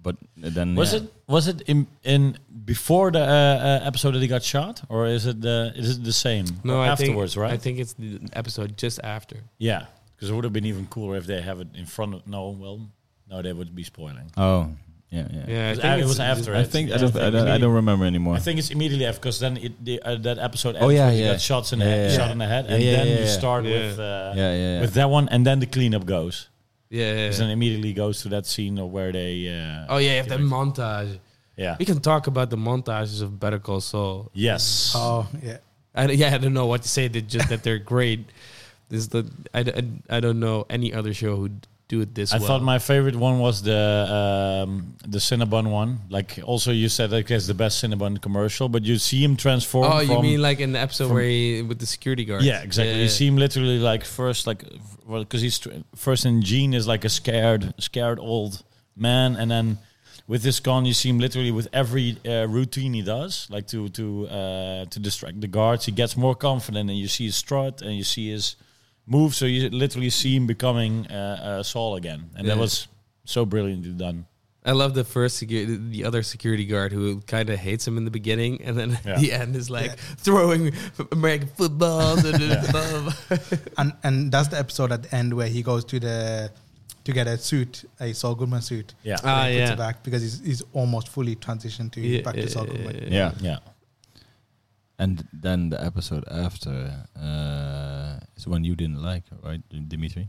Speaker 1: but then
Speaker 2: Was
Speaker 1: yeah.
Speaker 2: it was it in in before the uh, uh, episode that he got shot, or is it the is it the same?
Speaker 4: No,
Speaker 2: Or
Speaker 4: I
Speaker 2: afterwards,
Speaker 4: think,
Speaker 2: right?
Speaker 4: I think it's the episode just after.
Speaker 2: Yeah, because it would have been even cooler if they have it in front of. No, well, no, they would be spoiling.
Speaker 1: Oh, yeah, yeah.
Speaker 4: Yeah, I
Speaker 2: It
Speaker 4: think
Speaker 2: was
Speaker 4: it's-
Speaker 2: after
Speaker 1: I
Speaker 2: it.
Speaker 1: think
Speaker 2: Yeah,
Speaker 1: I don't I don't, I don't remember anymore.
Speaker 2: I think it's immediately after, because then it, the, uh, that episode.
Speaker 1: Oh,
Speaker 2: ends
Speaker 1: yeah,
Speaker 2: when he
Speaker 1: yeah.
Speaker 2: got shots in the
Speaker 1: Yeah,
Speaker 2: head,
Speaker 1: yeah,
Speaker 2: shot
Speaker 3: yeah.
Speaker 2: in the head,
Speaker 1: Yeah,
Speaker 2: and
Speaker 1: yeah,
Speaker 2: then
Speaker 1: yeah,
Speaker 2: you
Speaker 1: yeah.
Speaker 2: start
Speaker 4: Yeah.
Speaker 2: with uh,
Speaker 1: yeah, yeah, yeah.
Speaker 2: with that one, and then the cleanup goes.
Speaker 4: Yeah, yeah,
Speaker 2: Because
Speaker 4: yeah.
Speaker 2: then immediately goes to that scene of where they. Uh,
Speaker 4: Oh yeah, you have the montage.
Speaker 2: yeah.
Speaker 4: We can talk about the montages of Better Call Saul.
Speaker 2: Yes.
Speaker 3: Oh yeah.
Speaker 4: I, yeah, I don't know what to say. They just that they're great. This is the I, I, I don't know any other show who do it this
Speaker 2: I
Speaker 4: well.
Speaker 2: thought my favorite one was the um, the Cinnabon one. Like, also you said like it's the best Cinnabon commercial, but you see him transform.
Speaker 4: Oh, you
Speaker 2: from-
Speaker 4: mean like in the episode
Speaker 2: from-
Speaker 4: where he with the security guard?
Speaker 2: Yeah, exactly. You see him literally like first, like, well, because he's tr- first in Gene is like a scared, scared old man, and then with this gun, you see him literally with every uh, routine he does, like to to uh, to distract the guards. He gets more confident, and you see his strut, and you see his move. So you literally see him becoming uh, uh, Saul again, and that
Speaker 4: Yeah.
Speaker 2: was so brilliantly done.
Speaker 4: I love the first security, the other security guard who kind of hates him in the beginning, and then
Speaker 2: Yeah.
Speaker 4: at the end is like throwing f- American footballs and blah.
Speaker 3: And and that's the episode at the end where he goes to the to get a suit, a Saul Goodman suit.
Speaker 2: Yeah,
Speaker 3: And
Speaker 4: Ah,
Speaker 3: he puts
Speaker 4: yeah.
Speaker 3: it back because he's, he's almost fully transitioned to
Speaker 4: Yeah,
Speaker 3: back to
Speaker 4: yeah,
Speaker 3: Saul
Speaker 4: yeah,
Speaker 3: Goodman.
Speaker 4: yeah.
Speaker 1: yeah.
Speaker 2: yeah.
Speaker 1: And then the episode after uh, is one you didn't like, right, Dimitri?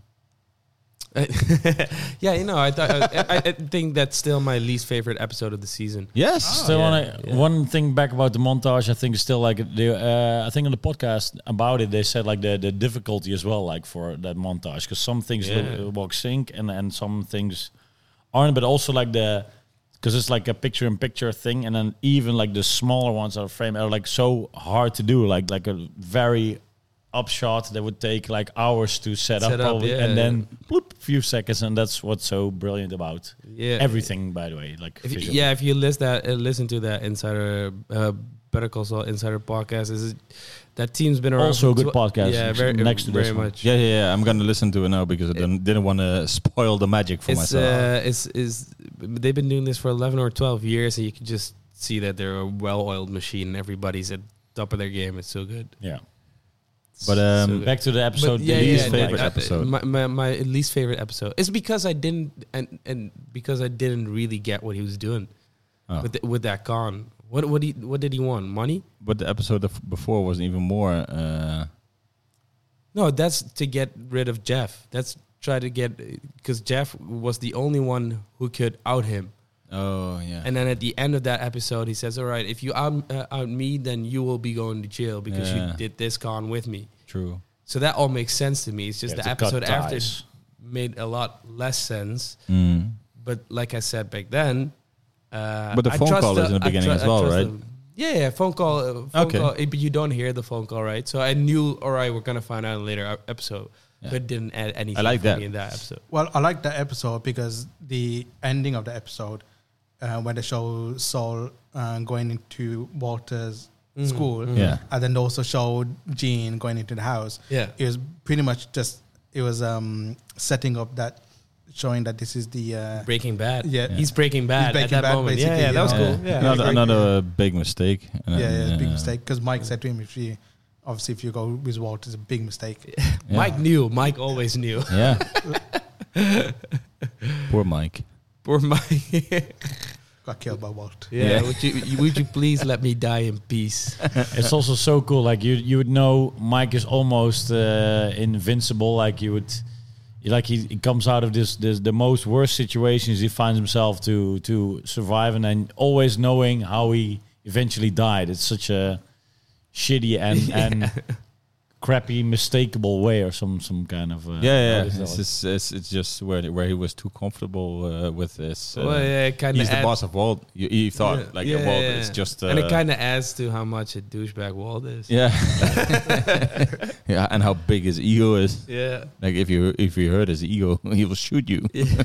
Speaker 4: Yeah, you know, I thought I, I, I think that's still my least favorite episode of the season.
Speaker 1: Yes.
Speaker 2: Still,
Speaker 4: yeah,
Speaker 2: wanna,
Speaker 4: yeah.
Speaker 2: one thing back about the montage, I think is still like the. Uh, I think on the podcast about it, they said like the the difficulty as well, like for that montage, because some things
Speaker 4: Yeah.
Speaker 2: look, walk sync and and some things aren't, but also like the because it's like a picture in picture thing, and then even like the smaller ones are framed are like so hard to do, like like a very upshot that would take like hours to set,
Speaker 4: Set
Speaker 2: up,
Speaker 4: up,
Speaker 2: probably,
Speaker 4: yeah.
Speaker 2: and then bloop, few seconds, and that's what's so brilliant about
Speaker 4: Yeah,
Speaker 2: everything. By the way, like
Speaker 4: If you,
Speaker 2: visually.
Speaker 4: yeah, if you list that, uh, listen to that Insider uh, Better Call Saul Insider podcast, is it, that team's been around.
Speaker 2: Also
Speaker 4: for
Speaker 2: a good
Speaker 4: tw-
Speaker 2: podcast,
Speaker 4: Yeah, very,
Speaker 2: next to
Speaker 4: very
Speaker 2: this one.
Speaker 4: much.
Speaker 1: Yeah, yeah, yeah. I'm gonna listen to it now because I didn't, didn't want to spoil the magic for
Speaker 4: It's
Speaker 1: myself.
Speaker 4: uh, it's is they've been doing this for eleven or twelve years, and you can just see that they're a well-oiled machine. And everybody's at top of their game. It's so good.
Speaker 2: Yeah.
Speaker 1: But um,
Speaker 4: So good.
Speaker 2: Back to the episode.
Speaker 4: But yeah,
Speaker 2: the
Speaker 4: yeah,
Speaker 2: least
Speaker 1: least
Speaker 4: yeah,
Speaker 1: favorite
Speaker 4: uh,
Speaker 1: episode.
Speaker 4: My, my my least favorite episode is because I didn't and and because I didn't really get what he was doing
Speaker 1: oh.
Speaker 4: with the, with that con. What what he what did he want? Money?
Speaker 1: but the episode of before was even more. Uh,
Speaker 4: No, that's to get rid of Jeff. That's try to get because Jeff was the only one who could out him.
Speaker 1: oh yeah.
Speaker 4: And then at the end of that episode, he says, "All right, if you out, uh, out me, then you will be going to jail because
Speaker 1: Yeah.
Speaker 4: you did this con with me."
Speaker 1: True.
Speaker 4: So that all makes sense to me. It's just
Speaker 2: Yeah,
Speaker 4: the
Speaker 2: to cut
Speaker 4: episode after
Speaker 2: ties.
Speaker 4: made a lot less sense.
Speaker 1: Mm.
Speaker 4: But like I said back then, uh,
Speaker 1: But the
Speaker 4: I
Speaker 1: phone
Speaker 4: trust
Speaker 1: call is in the
Speaker 4: I
Speaker 1: beginning
Speaker 4: tru-
Speaker 1: as well,
Speaker 4: I trust
Speaker 1: right?
Speaker 4: them. Yeah, yeah, phone call. Uh, phone
Speaker 1: Okay.
Speaker 4: call, eh, but you don't hear the phone call, right? So I knew, all right, we're gonna find out in a later ep- episode,
Speaker 1: Yeah.
Speaker 4: but didn't add anything.
Speaker 1: like
Speaker 4: for
Speaker 1: that.
Speaker 4: me in that episode.
Speaker 3: Well, I like that episode because the ending of the episode, uh, when they show Saul uh, going into Walter's
Speaker 4: Mhm,
Speaker 3: school,
Speaker 4: mhm.
Speaker 1: Yeah.
Speaker 3: and then they also showed Gene going into the house.
Speaker 4: Yeah,
Speaker 3: It was pretty much just it was um, setting up that, showing that this is the uh,
Speaker 4: Breaking Bad.
Speaker 3: yeah,
Speaker 4: He's Breaking Bad
Speaker 3: Breaking
Speaker 4: at that
Speaker 3: Bad,
Speaker 4: moment. Yeah,
Speaker 3: basically,
Speaker 4: yeah, that was
Speaker 3: you
Speaker 4: cool.
Speaker 3: know.
Speaker 4: Yeah,
Speaker 1: another
Speaker 3: I agree.
Speaker 1: another big mistake.
Speaker 3: yeah, yeah,
Speaker 1: Uh,
Speaker 3: big mistake because Mike said to him, if you obviously if you go with Walter, it's a big mistake.
Speaker 1: Yeah.
Speaker 4: Mike knew. Mike always knew.
Speaker 1: Yeah. Poor Mike.
Speaker 4: Poor Mike.
Speaker 3: Got killed by Walt.
Speaker 4: yeah,
Speaker 1: Yeah.
Speaker 4: Would you would you please let me die in peace?
Speaker 2: It's also so cool. Like you, you would know Mike is almost uh, invincible. Like you would, like he, he comes out of this, this the most worst situations he finds himself to to survive, and then always knowing how he eventually died. It's such a shitty and and crappy, mistakable way, or some some kind of uh,
Speaker 1: Yeah, yeah.
Speaker 2: what is
Speaker 1: It's
Speaker 2: that?
Speaker 1: just, it's, it's just where where he was too comfortable uh, with this. Uh,
Speaker 4: Well, yeah, kind
Speaker 1: he's
Speaker 4: of.
Speaker 1: the boss of Walt. You, you thought
Speaker 4: Yeah.
Speaker 1: like
Speaker 4: Yeah,
Speaker 1: yeah, Walt
Speaker 4: yeah,
Speaker 1: is
Speaker 4: yeah.
Speaker 1: just. Uh,
Speaker 4: and it kind of adds to how much a douchebag Walt is.
Speaker 1: Yeah. Yeah, and how big his ego is.
Speaker 4: Yeah.
Speaker 1: Like if you if you hurt his ego, he will shoot you.
Speaker 4: Yeah.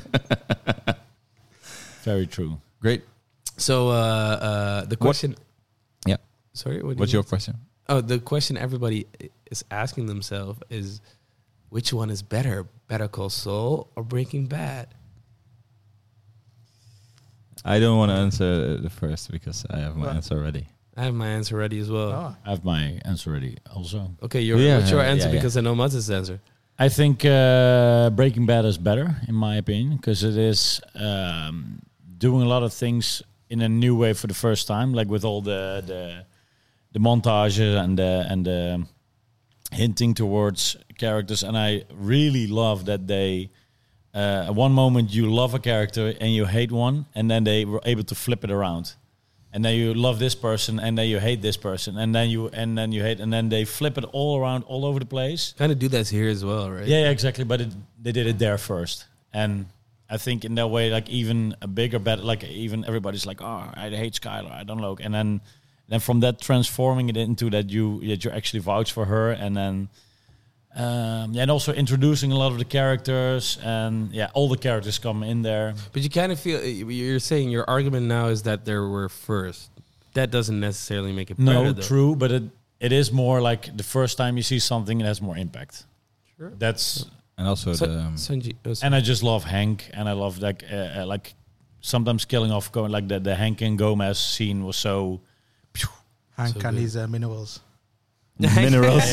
Speaker 2: Very true.
Speaker 1: Great.
Speaker 4: So uh, uh, the question.
Speaker 1: Yeah.
Speaker 4: Sorry. What do
Speaker 1: What's
Speaker 4: you
Speaker 1: your question?
Speaker 4: Oh, the question everybody i- is asking themselves is, which one is better, Better Call Saul or Breaking Bad?
Speaker 1: I don't want to answer the first because I have my
Speaker 3: What?
Speaker 1: answer ready.
Speaker 4: I have my answer ready as well.
Speaker 3: Oh.
Speaker 2: I have my answer ready also.
Speaker 4: Okay, your,
Speaker 1: Yeah,
Speaker 4: what's your
Speaker 1: yeah,
Speaker 4: answer?
Speaker 1: yeah, yeah.
Speaker 4: Because I know Mats' answer.
Speaker 2: I think uh, Breaking Bad is better, in my opinion, because it is um, doing a lot of things in a new way for the first time, like with all the the, the montages and the, and the hinting towards characters. And I really love that they, uh, at one moment you love a character and you hate one, and then they were able to flip it around. And then you love this person, and then you hate this person, and then you and then you hate, and then they flip it all around, all over the place.
Speaker 4: Kind of do that here as well, right?
Speaker 2: Yeah, yeah, exactly. But it, they did it there first, and I think in that way, like even a bigger bet, like even everybody's like, oh, I hate Skylar, I don't know, and then then from that transforming it into that you that you actually vouch for her, and then um, yeah, and also introducing a lot of the characters, and yeah, all the characters come in there.
Speaker 4: But you kind of feel you're saying your argument now is that there were first. That doesn't necessarily make it
Speaker 2: No,
Speaker 4: better, though.
Speaker 2: true, but it it is more like the first time you see something, it has more impact.
Speaker 4: Sure.
Speaker 2: That's
Speaker 1: And also
Speaker 4: So,
Speaker 1: the um,
Speaker 4: Sanji, oh,
Speaker 2: and I just love Hank, and I love like uh, uh, like sometimes killing off going like the the Hank and Gomez scene was so.
Speaker 3: Hank
Speaker 4: So
Speaker 3: and
Speaker 4: good.
Speaker 3: his uh, minerals.
Speaker 1: minerals.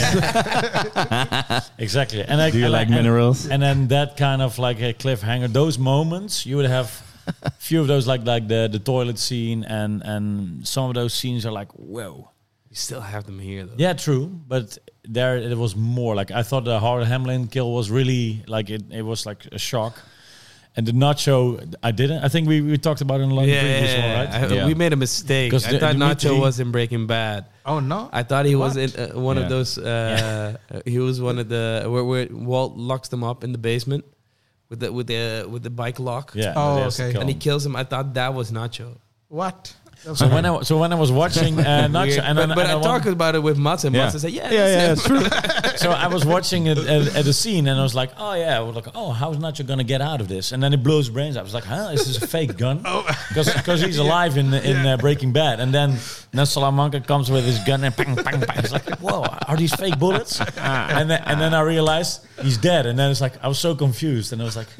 Speaker 2: Exactly, and I,
Speaker 1: Do you
Speaker 2: and I-
Speaker 1: like
Speaker 2: and-
Speaker 1: minerals?
Speaker 2: And then that kind of like a cliffhanger. Those moments you would have a few of those, like like the the toilet scene, and and some of those scenes are like whoa.
Speaker 4: you still have them here, though.
Speaker 2: Yeah, true, but there it was more like I thought the Howard Hamlin kill was really like it. It was like a shock, and the Nacho I didn't. I think we, we talked about it in London
Speaker 4: Yeah,
Speaker 2: previous
Speaker 4: yeah,
Speaker 2: one,
Speaker 4: yeah.
Speaker 2: right?
Speaker 4: I-
Speaker 1: Yeah.
Speaker 4: we made a mistake.
Speaker 2: 'Cause
Speaker 4: I
Speaker 2: the-
Speaker 4: thought
Speaker 2: Dimitri-
Speaker 4: Nacho was in Breaking Bad.
Speaker 3: Oh no!
Speaker 4: I thought he was
Speaker 3: What?
Speaker 4: in uh, one of
Speaker 1: Yeah.
Speaker 4: those. Uh, uh, he was one of the where, where Walt locks them up in the basement with the with the with the bike lock.
Speaker 2: Yeah.
Speaker 3: Oh,
Speaker 2: that has to
Speaker 3: okay.
Speaker 2: kill
Speaker 4: and he
Speaker 2: him.
Speaker 4: kills him. I thought that was Nacho.
Speaker 3: What?
Speaker 2: So when I so when I was watching uh, Nacho,
Speaker 4: Weird.
Speaker 2: and
Speaker 4: but
Speaker 2: then
Speaker 4: but
Speaker 2: and
Speaker 4: I
Speaker 2: want-
Speaker 4: talked about it with Mats, and
Speaker 1: Yeah.
Speaker 4: Mats said, "Yeah,
Speaker 1: yeah, yeah,
Speaker 4: that's
Speaker 1: it's
Speaker 4: it."
Speaker 1: true.
Speaker 2: So I was watching it at, at the scene, and I was like, "Oh yeah," I was like, "Oh, how's Nacho gonna get out of this?" And then it blows his brains out. I was like, "Huh? Is this a fake gun?" Because he's alive in in uh, Breaking Bad, and then then Salamanca comes with his gun and bang bang bang. It's like, "Whoa, are these fake bullets?" And then and then I realized he's dead, and then it's like I was so confused, and I was like,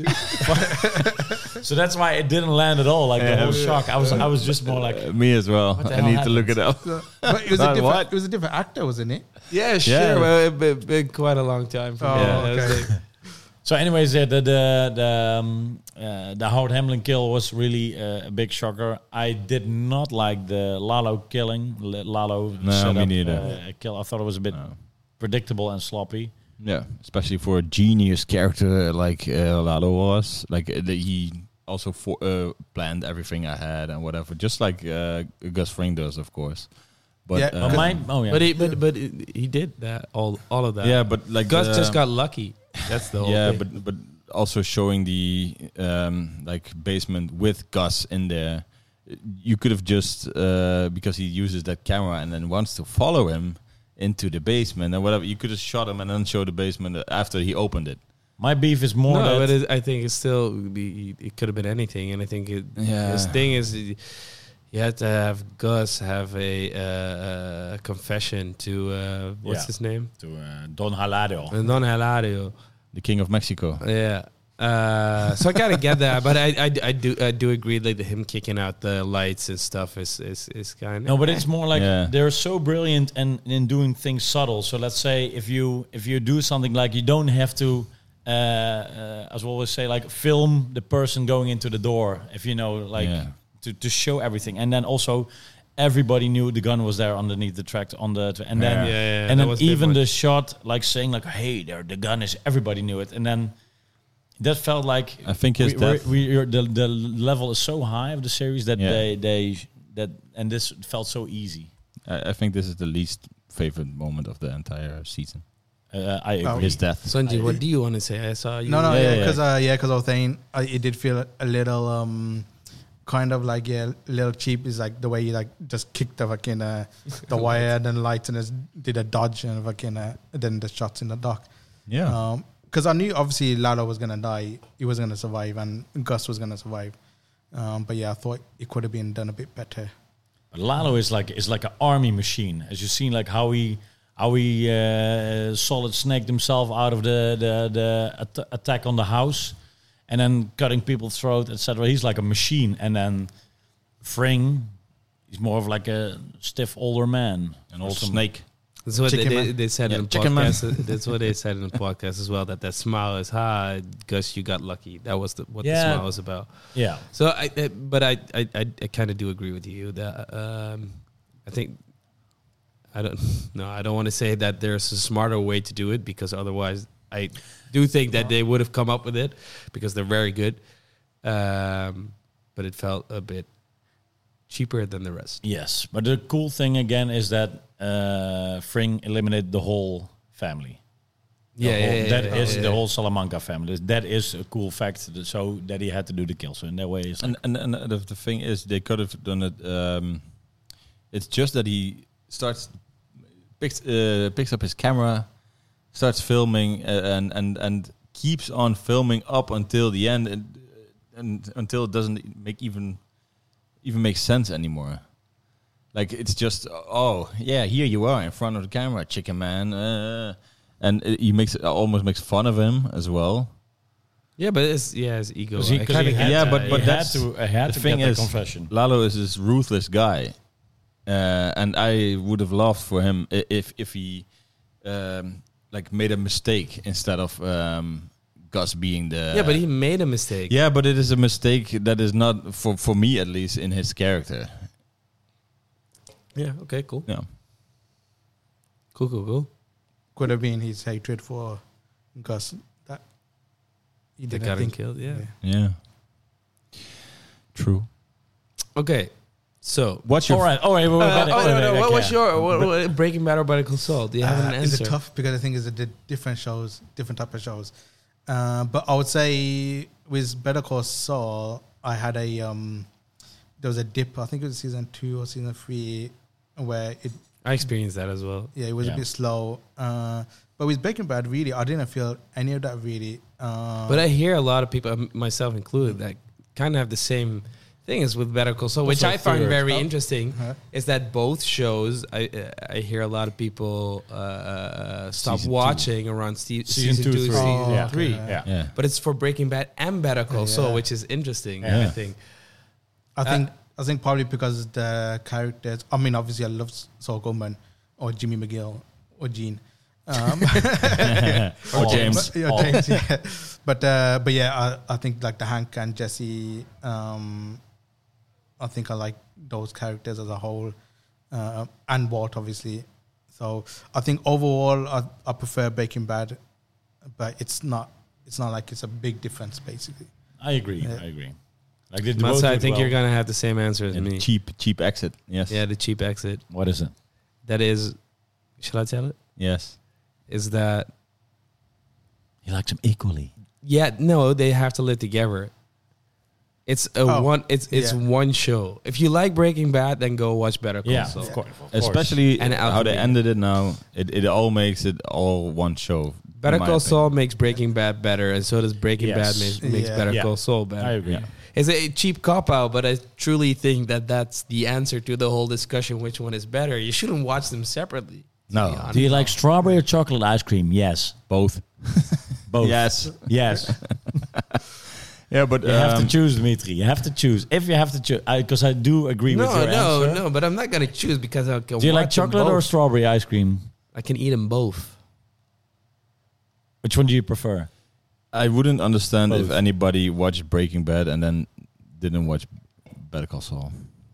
Speaker 2: so that's why it didn't land at all. Like the
Speaker 1: Yeah.
Speaker 2: whole shock. I was I was just more like,
Speaker 1: Uh, me as well.
Speaker 2: What the
Speaker 1: I
Speaker 2: hell
Speaker 1: need to look it
Speaker 2: happened?
Speaker 1: up.
Speaker 3: But it was a
Speaker 1: Not
Speaker 3: different.
Speaker 1: what?
Speaker 3: It was a different actor, wasn't it?
Speaker 4: Yeah, sure.
Speaker 1: Yeah.
Speaker 4: Well, it been, been quite a long time. For
Speaker 3: Oh,
Speaker 4: me. Yeah, it was
Speaker 3: okay.
Speaker 4: like-
Speaker 2: So, anyways, uh, the the the um, uh, the Howard Hamlin kill was really uh, a big shocker. I did not like the Lalo killing. L- Lalo
Speaker 1: No,
Speaker 2: set
Speaker 1: me
Speaker 2: up,
Speaker 1: neither.
Speaker 2: Uh, kill. I thought it was a bit
Speaker 1: No.
Speaker 2: predictable and sloppy.
Speaker 1: Yeah, especially for a genius character like uh, Lalo was. Like uh, the, he also for, uh, planned everything ahead and whatever, just like uh, Gus Fring does, of course. But
Speaker 3: Yeah,
Speaker 1: uh,
Speaker 2: But mine, oh yeah,
Speaker 4: But he, but but it- he did that all all of that.
Speaker 1: yeah, but like
Speaker 4: Gus
Speaker 1: uh,
Speaker 4: just got lucky. That's the whole
Speaker 1: yeah,
Speaker 4: thing.
Speaker 1: but but also showing the um, like basement with Gus in there. You could have just uh, because he uses that camera and then wants to follow him into the basement and whatever. You could have shot him and then show the basement after he opened it.
Speaker 2: my beef is more
Speaker 4: no,
Speaker 2: that
Speaker 4: but it, I think it's still be, it could have been anything, and I think it,
Speaker 1: Yeah.
Speaker 4: his thing is you had to have Gus have a uh, a confession to uh, what's
Speaker 2: Yeah.
Speaker 4: his name,
Speaker 2: to uh, Don Hilario.
Speaker 4: Don Hilario.
Speaker 1: The King of Mexico.
Speaker 4: Yeah. Uh, so I gotta get that, but I, I, I do I do agree like him kicking out the lights and stuff is is, is kind of
Speaker 2: No, but it's more like
Speaker 1: Yeah.
Speaker 2: they're so brilliant and in doing things subtle. So let's say if you if you do something like you don't have to, uh, uh, as we always say, like film the person going into the door. If you know, like
Speaker 1: Yeah.
Speaker 2: to to show everything, and then also everybody knew the gun was there underneath the track on the, and then
Speaker 4: Yeah, yeah, yeah,
Speaker 2: and
Speaker 4: that
Speaker 2: then
Speaker 4: was a big
Speaker 2: even
Speaker 4: one.
Speaker 2: the shot like saying like, hey, there the gun is. Everybody knew it, and then. That felt like
Speaker 1: I think his
Speaker 2: we, we're-
Speaker 1: death-
Speaker 2: we, are the the level is so high of the series that
Speaker 1: Yeah.
Speaker 2: they they that and this felt so easy.
Speaker 1: I, I think this is the least favorite moment of the entire season.
Speaker 2: Uh, I
Speaker 3: Oh.
Speaker 2: agree.
Speaker 1: His death.
Speaker 4: Sanji, what do you want to say? I saw you.
Speaker 3: No, no,
Speaker 2: Yeah,
Speaker 3: yeah,
Speaker 2: yeah,
Speaker 3: because yeah, uh, yeah, 'cause I was saying uh, it did feel a little um, kind of like yeah, a little cheap. Is like the way you like just kicked the fucking uh, the wire and then lights and just did a dodge and fucking uh, then the shots in the dark.
Speaker 1: Yeah.
Speaker 3: Um, because I knew obviously Lalo was gonna die, he was gonna survive, and Gus was gonna survive. Um, but yeah, I thought it could have been done a bit better.
Speaker 2: But Lalo is like is like an army machine. As you've seen, like how he how he uh, solid snaked himself out of the the the at- attack on the house, and then cutting people's throat, et cetera. He's like a machine, and then Fring, he's more of like a stiff older man,
Speaker 1: An old
Speaker 2: Some-
Speaker 1: snake.
Speaker 4: That's what they,
Speaker 3: Chicken
Speaker 4: they,
Speaker 3: Man.
Speaker 4: they said
Speaker 1: Yeah,
Speaker 4: in the
Speaker 1: Chicken Man.
Speaker 4: podcast. That's what they said in the podcast as well. That that smile is, ha, Gus, you got lucky. That was the, what
Speaker 2: Yeah.
Speaker 4: the smile was about.
Speaker 2: Yeah,
Speaker 4: So, I, I but I I, I, I kind of do agree with you that um, I think I don't no I don't want to say that there's a smarter way to do it, because otherwise I do think that they would have come up with it, because they're very good. Um, but it felt a bit cheaper than the rest.
Speaker 2: yes. But the cool thing again is that uh, Fring eliminated the whole family. The
Speaker 4: Yeah,
Speaker 2: whole-
Speaker 4: yeah, yeah,
Speaker 2: that
Speaker 4: yeah,
Speaker 2: is
Speaker 4: yeah,
Speaker 2: the
Speaker 4: yeah.
Speaker 2: whole Salamanca family. That is a cool fact. that- So that he had to do the kill. So in that way, it's like,
Speaker 1: And and, and the, the thing is, they could have done it. Um, it's just that he starts picks uh, picks up his camera, starts filming, uh, and and and keeps on filming up until the end, and, and until it doesn't make even even make sense anymore. Like it's just, oh yeah, here you are in front of the camera, Chicken Man, uh, and it, he makes almost makes fun of him as well.
Speaker 4: Yeah, but it's yeah, his ego.
Speaker 2: 'Cause he-
Speaker 4: I
Speaker 2: 'cause
Speaker 4: kinda
Speaker 2: he
Speaker 4: get
Speaker 2: had
Speaker 1: yeah,
Speaker 2: to-
Speaker 1: but
Speaker 2: he
Speaker 1: but
Speaker 2: had
Speaker 1: that's
Speaker 2: to- he had
Speaker 1: the
Speaker 2: to
Speaker 1: thing
Speaker 2: get the
Speaker 1: is,
Speaker 2: confession.
Speaker 1: Lalo is this ruthless guy, uh, and I would have loved for him i- if if he um, like made a mistake instead of um, Gus being the
Speaker 4: yeah, but he made a mistake.
Speaker 1: yeah, but it is a mistake that is not for for me at least in his character.
Speaker 4: Yeah. Okay. Cool.
Speaker 1: Yeah,
Speaker 4: Cool. Cool. Cool.
Speaker 3: Could have been his hatred for Gus that he
Speaker 4: They
Speaker 3: didn't
Speaker 4: got him
Speaker 3: think.
Speaker 4: killed. Yeah.
Speaker 1: yeah, true.
Speaker 4: Okay. So.
Speaker 1: What's your
Speaker 2: all right. All right. Wait, wait,
Speaker 4: Uh,
Speaker 2: wait,
Speaker 4: oh,
Speaker 2: wait,
Speaker 4: no,
Speaker 2: wait,
Speaker 4: no.
Speaker 2: wait,
Speaker 4: What was
Speaker 2: yeah.
Speaker 4: your what, what, Breaking Bad or Better Call Saul? Do you have
Speaker 3: Uh,
Speaker 4: an
Speaker 3: Is
Speaker 4: answer?
Speaker 3: it tough because I think it's a di- different shows, different type of shows. Uh, but I would say with Better Call Saul, I had a um, there was a dip. I think it was season two or season three, where it
Speaker 4: I experienced that as well.
Speaker 3: yeah it was
Speaker 2: Yeah.
Speaker 3: a bit slow. Uh, but with Breaking Bad, really, I didn't feel any of that really. Uh,
Speaker 4: But I hear a lot of people, um, myself included, that kind of have the same thing as with Better Call Saul, which
Speaker 3: Also
Speaker 4: I find
Speaker 3: third.
Speaker 4: very
Speaker 3: Oh.
Speaker 4: interesting.
Speaker 3: Huh?
Speaker 4: Is that both shows? I uh, I hear a lot of people uh, uh, stop
Speaker 1: Season two.
Speaker 4: watching around ste-
Speaker 2: Season
Speaker 4: season,
Speaker 2: two,
Speaker 4: two,
Speaker 2: three.
Speaker 4: season
Speaker 3: Oh,
Speaker 2: Yeah.
Speaker 4: three.
Speaker 3: okay.
Speaker 2: Yeah.
Speaker 1: yeah.
Speaker 4: But it's for Breaking Bad and Better Call Saul,
Speaker 3: Yeah.
Speaker 4: which is interesting.
Speaker 1: Yeah.
Speaker 4: I think.
Speaker 3: I think I think probably because the characters. I mean, obviously, I love Saul Goodman or Jimmy McGill or Gene. Um,
Speaker 1: Or
Speaker 2: All.
Speaker 1: James.
Speaker 3: But, yeah,
Speaker 2: All.
Speaker 3: James, yeah. But uh, but yeah, I, I think like the Hank and Jesse. Um, I think I like those characters as a whole, uh, and Walt obviously. So I think overall, I, I prefer Breaking Bad, but it's not. It's not like it's a big difference basically.
Speaker 2: I agree.
Speaker 3: Yeah.
Speaker 2: I agree. Like they both
Speaker 4: Masa, I
Speaker 2: did
Speaker 4: think
Speaker 2: well.
Speaker 4: you're gonna have the same answer as
Speaker 1: And
Speaker 4: me.
Speaker 1: cheap cheap exit. Yes.
Speaker 4: Yeah, the cheap exit.
Speaker 2: What is it?
Speaker 4: That is, shall I tell it?
Speaker 1: Yes.
Speaker 4: Is that
Speaker 2: He likes him equally.
Speaker 4: yeah? No, they have to live together. It's a
Speaker 3: Oh,
Speaker 4: one. It's it's
Speaker 3: yeah.
Speaker 4: one show. If you like Breaking Bad, then go watch Better Call
Speaker 2: Yeah,
Speaker 4: Saul.
Speaker 2: of course. Of course.
Speaker 1: Especially
Speaker 4: And
Speaker 1: how they
Speaker 4: Alchemy.
Speaker 1: ended it now. It it all makes it all one show.
Speaker 4: Better
Speaker 1: in my
Speaker 4: Call
Speaker 1: opinion.
Speaker 4: Saul makes Breaking Bad better, and so does Breaking
Speaker 2: Yes.
Speaker 4: Bad makes, makes
Speaker 3: Yeah.
Speaker 4: Better
Speaker 2: Yeah.
Speaker 4: Call Saul
Speaker 2: I
Speaker 4: better.
Speaker 2: agree.
Speaker 1: Yeah.
Speaker 4: It's a cheap cop out, but I truly think that that's the answer to the whole discussion. Which one is better? You shouldn't watch them separately. to
Speaker 1: No.
Speaker 4: be honest.
Speaker 2: Do you like strawberry or chocolate ice cream? Yes.
Speaker 1: Both.
Speaker 2: Both.
Speaker 1: Yes.
Speaker 2: Yes.
Speaker 1: Yeah, but
Speaker 2: You have to
Speaker 1: um,
Speaker 2: choose, Dimitri. You have to choose. If you have to choose, because I, do agree
Speaker 4: No,
Speaker 2: with your
Speaker 4: no,
Speaker 2: answer.
Speaker 4: no. But I'm not gonna choose because I can.
Speaker 2: Do you like
Speaker 4: watch them
Speaker 2: chocolate or
Speaker 4: both.
Speaker 2: strawberry ice cream?
Speaker 4: I can eat them both.
Speaker 2: Which one do you prefer?
Speaker 1: I wouldn't understand
Speaker 2: Both.
Speaker 1: if anybody watched Breaking Bad and then didn't watch Better Call Saul.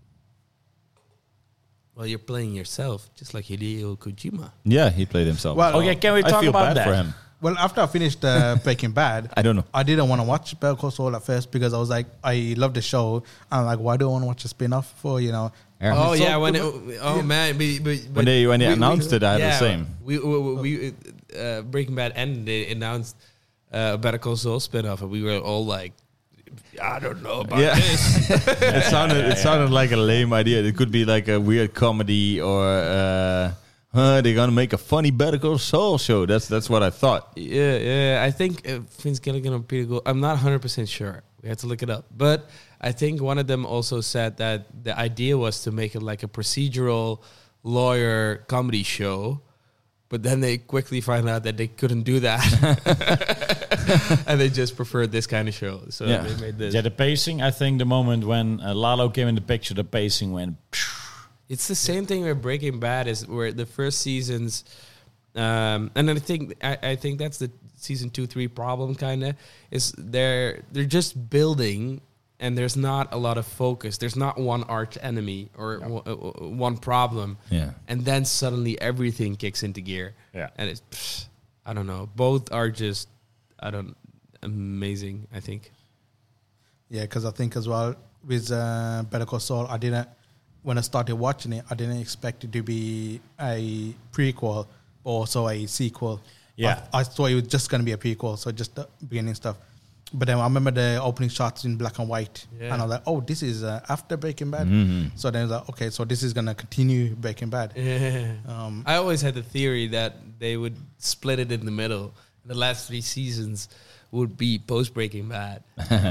Speaker 4: Well, you're playing yourself, just like Hideo Kojima.
Speaker 1: Yeah, he played himself.
Speaker 3: Well,
Speaker 2: Okay, can we
Speaker 1: I
Speaker 2: talk
Speaker 1: feel
Speaker 2: about
Speaker 1: bad
Speaker 2: that?
Speaker 1: for him.
Speaker 3: Well, after I finished uh, Breaking Bad,
Speaker 1: I don't know.
Speaker 3: I didn't want to watch Better Call Saul at first because I was like, I love the show. And I'm like, why do I want to watch a spin off for, you know?
Speaker 1: Yeah.
Speaker 4: Oh
Speaker 3: So
Speaker 4: yeah, when it,
Speaker 3: good-
Speaker 4: oh
Speaker 3: yeah.
Speaker 4: man, we, we,
Speaker 1: When they- when they announced it, I had the same.
Speaker 4: We we, we uh, Breaking Bad ended. They announced uh, Better Call Saul spinoff, and we were all like, I don't know about
Speaker 1: Yeah.
Speaker 4: this.
Speaker 1: it sounded it sounded like a lame idea. It could be like a weird comedy or uh, huh, they're gonna make a funny Better Call Saul show. That's that's what I thought.
Speaker 4: Yeah, yeah. I think uh, Vince Gilligan or Peter Gould. I'm not one hundred percent sure. We had to look it up. But I think one of them also said that the idea was to make it like a procedural lawyer comedy show. But then they quickly find out that they couldn't do that. and they just preferred this kind of show, so
Speaker 1: Yeah.
Speaker 4: they made this.
Speaker 2: Yeah, the pacing. I think the moment when uh, Lalo came in the picture, the pacing went.
Speaker 4: It's the same thing with Breaking Bad, is where the first seasons, um, and I think I, I think that's the season two, three problem, kind of, is they're they're just building, and there's not a lot of focus. There's not one arch enemy or w- uh, one problem,
Speaker 1: Yeah.
Speaker 4: and then suddenly everything kicks into gear.
Speaker 2: Yeah.
Speaker 4: And it's, pfft, I don't know. Both are just, I don't, amazing, I think.
Speaker 3: Yeah, because I think as well with uh, Better Call Saul, I didn't, when I started watching it, I didn't expect it to be a prequel or also a sequel.
Speaker 2: Yeah.
Speaker 3: I, I thought it was just going to be a prequel, so just the beginning stuff. But then I remember the opening shots in black and white,
Speaker 4: Yeah.
Speaker 3: and I was like, oh, this is uh, after Breaking Bad.
Speaker 1: Mhm.
Speaker 3: So then I was like, okay, so this is going to continue Breaking Bad.
Speaker 4: Yeah.
Speaker 3: Um,
Speaker 4: I always had the theory that they would split it in the middle. The last three seasons would be post Breaking Bad.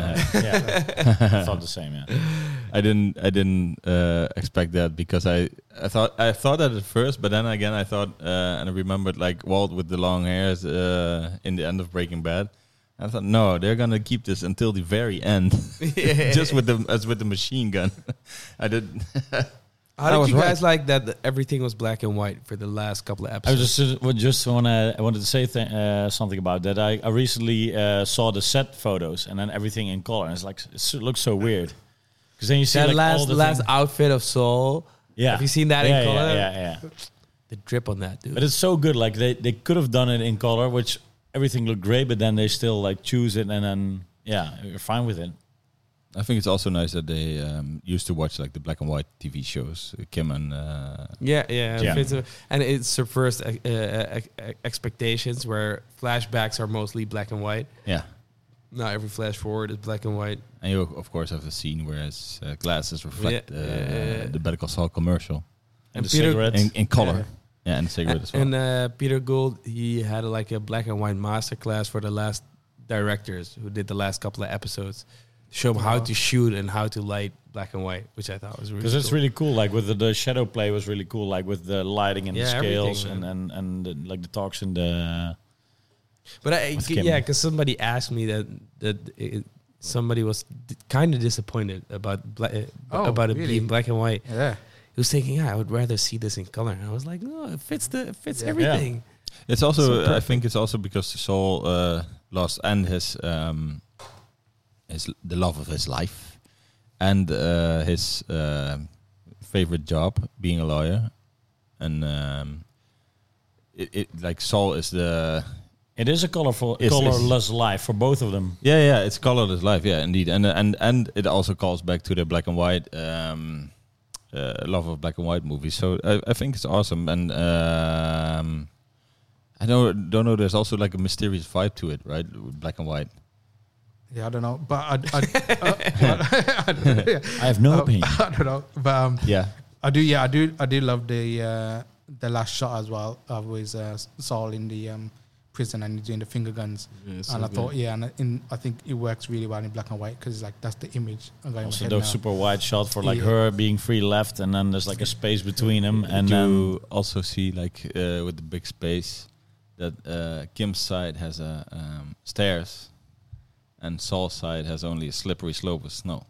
Speaker 2: Yeah, I thought the same. Yeah.
Speaker 1: I didn't. I didn't uh, expect that because I. I thought. I thought that at first, but then again, I thought uh, and I remembered like Walt with the long hairs uh, in the end of Breaking Bad. I thought, no, they're gonna keep this until the very end, just with the as with the machine gun. I did.
Speaker 4: How
Speaker 1: I
Speaker 4: did
Speaker 1: was
Speaker 4: you
Speaker 1: right.
Speaker 4: guys like that the- everything was black and white for the last couple of
Speaker 2: I was
Speaker 4: episodes?
Speaker 2: just uh, just wanna I wanted to say th- uh, something about that. I, I recently uh, saw the set photos and then everything in color. And it's like it looks so weird because then you see
Speaker 4: that
Speaker 2: like all
Speaker 4: last
Speaker 2: the
Speaker 4: last
Speaker 2: thing-
Speaker 4: outfit of Saul.
Speaker 2: Yeah,
Speaker 4: Have you seen that
Speaker 2: yeah,
Speaker 4: in color?
Speaker 2: Yeah, yeah, yeah.
Speaker 4: The drip on that, dude.
Speaker 2: But it's so good. Like they, they could have done it in color, which everything looked great, but then they still like choose it and then yeah, you're fine with it.
Speaker 1: I think it's also nice that they um, used to watch like the black and white T V shows, uh, Kim and uh,
Speaker 4: yeah, yeah,
Speaker 2: Yeah.
Speaker 4: Fits, uh, and it subverts uh, uh, uh, expectations where flashbacks are mostly black and white.
Speaker 1: yeah.
Speaker 4: Not every flash forward is black and white.
Speaker 1: And you of course have the scene where his uh, glasses reflect
Speaker 4: Yeah,
Speaker 1: uh,
Speaker 4: yeah, yeah, yeah.
Speaker 1: the Better Call Saul commercial
Speaker 2: And,
Speaker 4: And
Speaker 2: the
Speaker 4: Peter-
Speaker 2: cigarettes.
Speaker 1: in, in color.
Speaker 3: Yeah.
Speaker 1: Yeah, and the cigarette as well.
Speaker 4: And uh, Peter Gould, he had like a black and white masterclass for the last directors who did the last couple of episodes, to show them how
Speaker 3: Wow.
Speaker 4: to shoot and how to light black and white, which I thought was really
Speaker 2: Because it's
Speaker 4: cool.
Speaker 2: really cool. Like with the, the shadow play was really cool. Like with the lighting and
Speaker 4: Yeah,
Speaker 2: the scales
Speaker 4: everything,
Speaker 2: and and, and the, like the talks and the.
Speaker 4: But I,
Speaker 2: With
Speaker 4: g-
Speaker 2: Kim.
Speaker 4: yeah, because somebody asked me that that it, somebody was d- kind of disappointed about bla- uh,
Speaker 3: Oh,
Speaker 4: about it
Speaker 3: really?
Speaker 4: being black and white.
Speaker 3: yeah.
Speaker 4: He was thinking, yeah, I would rather see this in color. And I was like, no, it fits the it fits
Speaker 3: Yeah.
Speaker 4: everything.
Speaker 1: It's also,
Speaker 4: So
Speaker 1: I
Speaker 4: perfect.
Speaker 1: think, it's also because Saul uh, lost and his um, his the love of his life, and uh, his uh, favorite job, being a lawyer, and um, it, it like Saul is the
Speaker 2: It is a colorful,
Speaker 1: Is- is-
Speaker 2: colorless life for both of them.
Speaker 1: yeah yeah it's colorless life, yeah, indeed, and and and it also calls back to the black and white um, uh, love of black and white movies. So I, I think it's awesome, and um, I don't don't know. There's also like a mysterious vibe to it, right? With black and white.
Speaker 3: Yeah, I don't know, but I, I, uh, I, don't know, yeah.
Speaker 2: I have no
Speaker 3: Uh,
Speaker 2: opinion.
Speaker 3: I don't know, but um,
Speaker 1: Yeah.
Speaker 3: I do. Yeah, I do. I do love the uh, the last shot as well. Of with uh, Saul in the um, prison and he's doing the finger guns. and I thought, yeah, and in, I think it works really well in black and white because like that's the image I'm going
Speaker 2: Also,
Speaker 3: my head
Speaker 2: those
Speaker 3: now.
Speaker 2: super wide shot for like
Speaker 3: Yeah.
Speaker 2: her being free left, and then there's like a space between them, and
Speaker 1: And
Speaker 2: then
Speaker 1: you also see like uh, with the big space that uh, Kim's side has a um, stairs, and Saul's side has only a slippery slope of snow.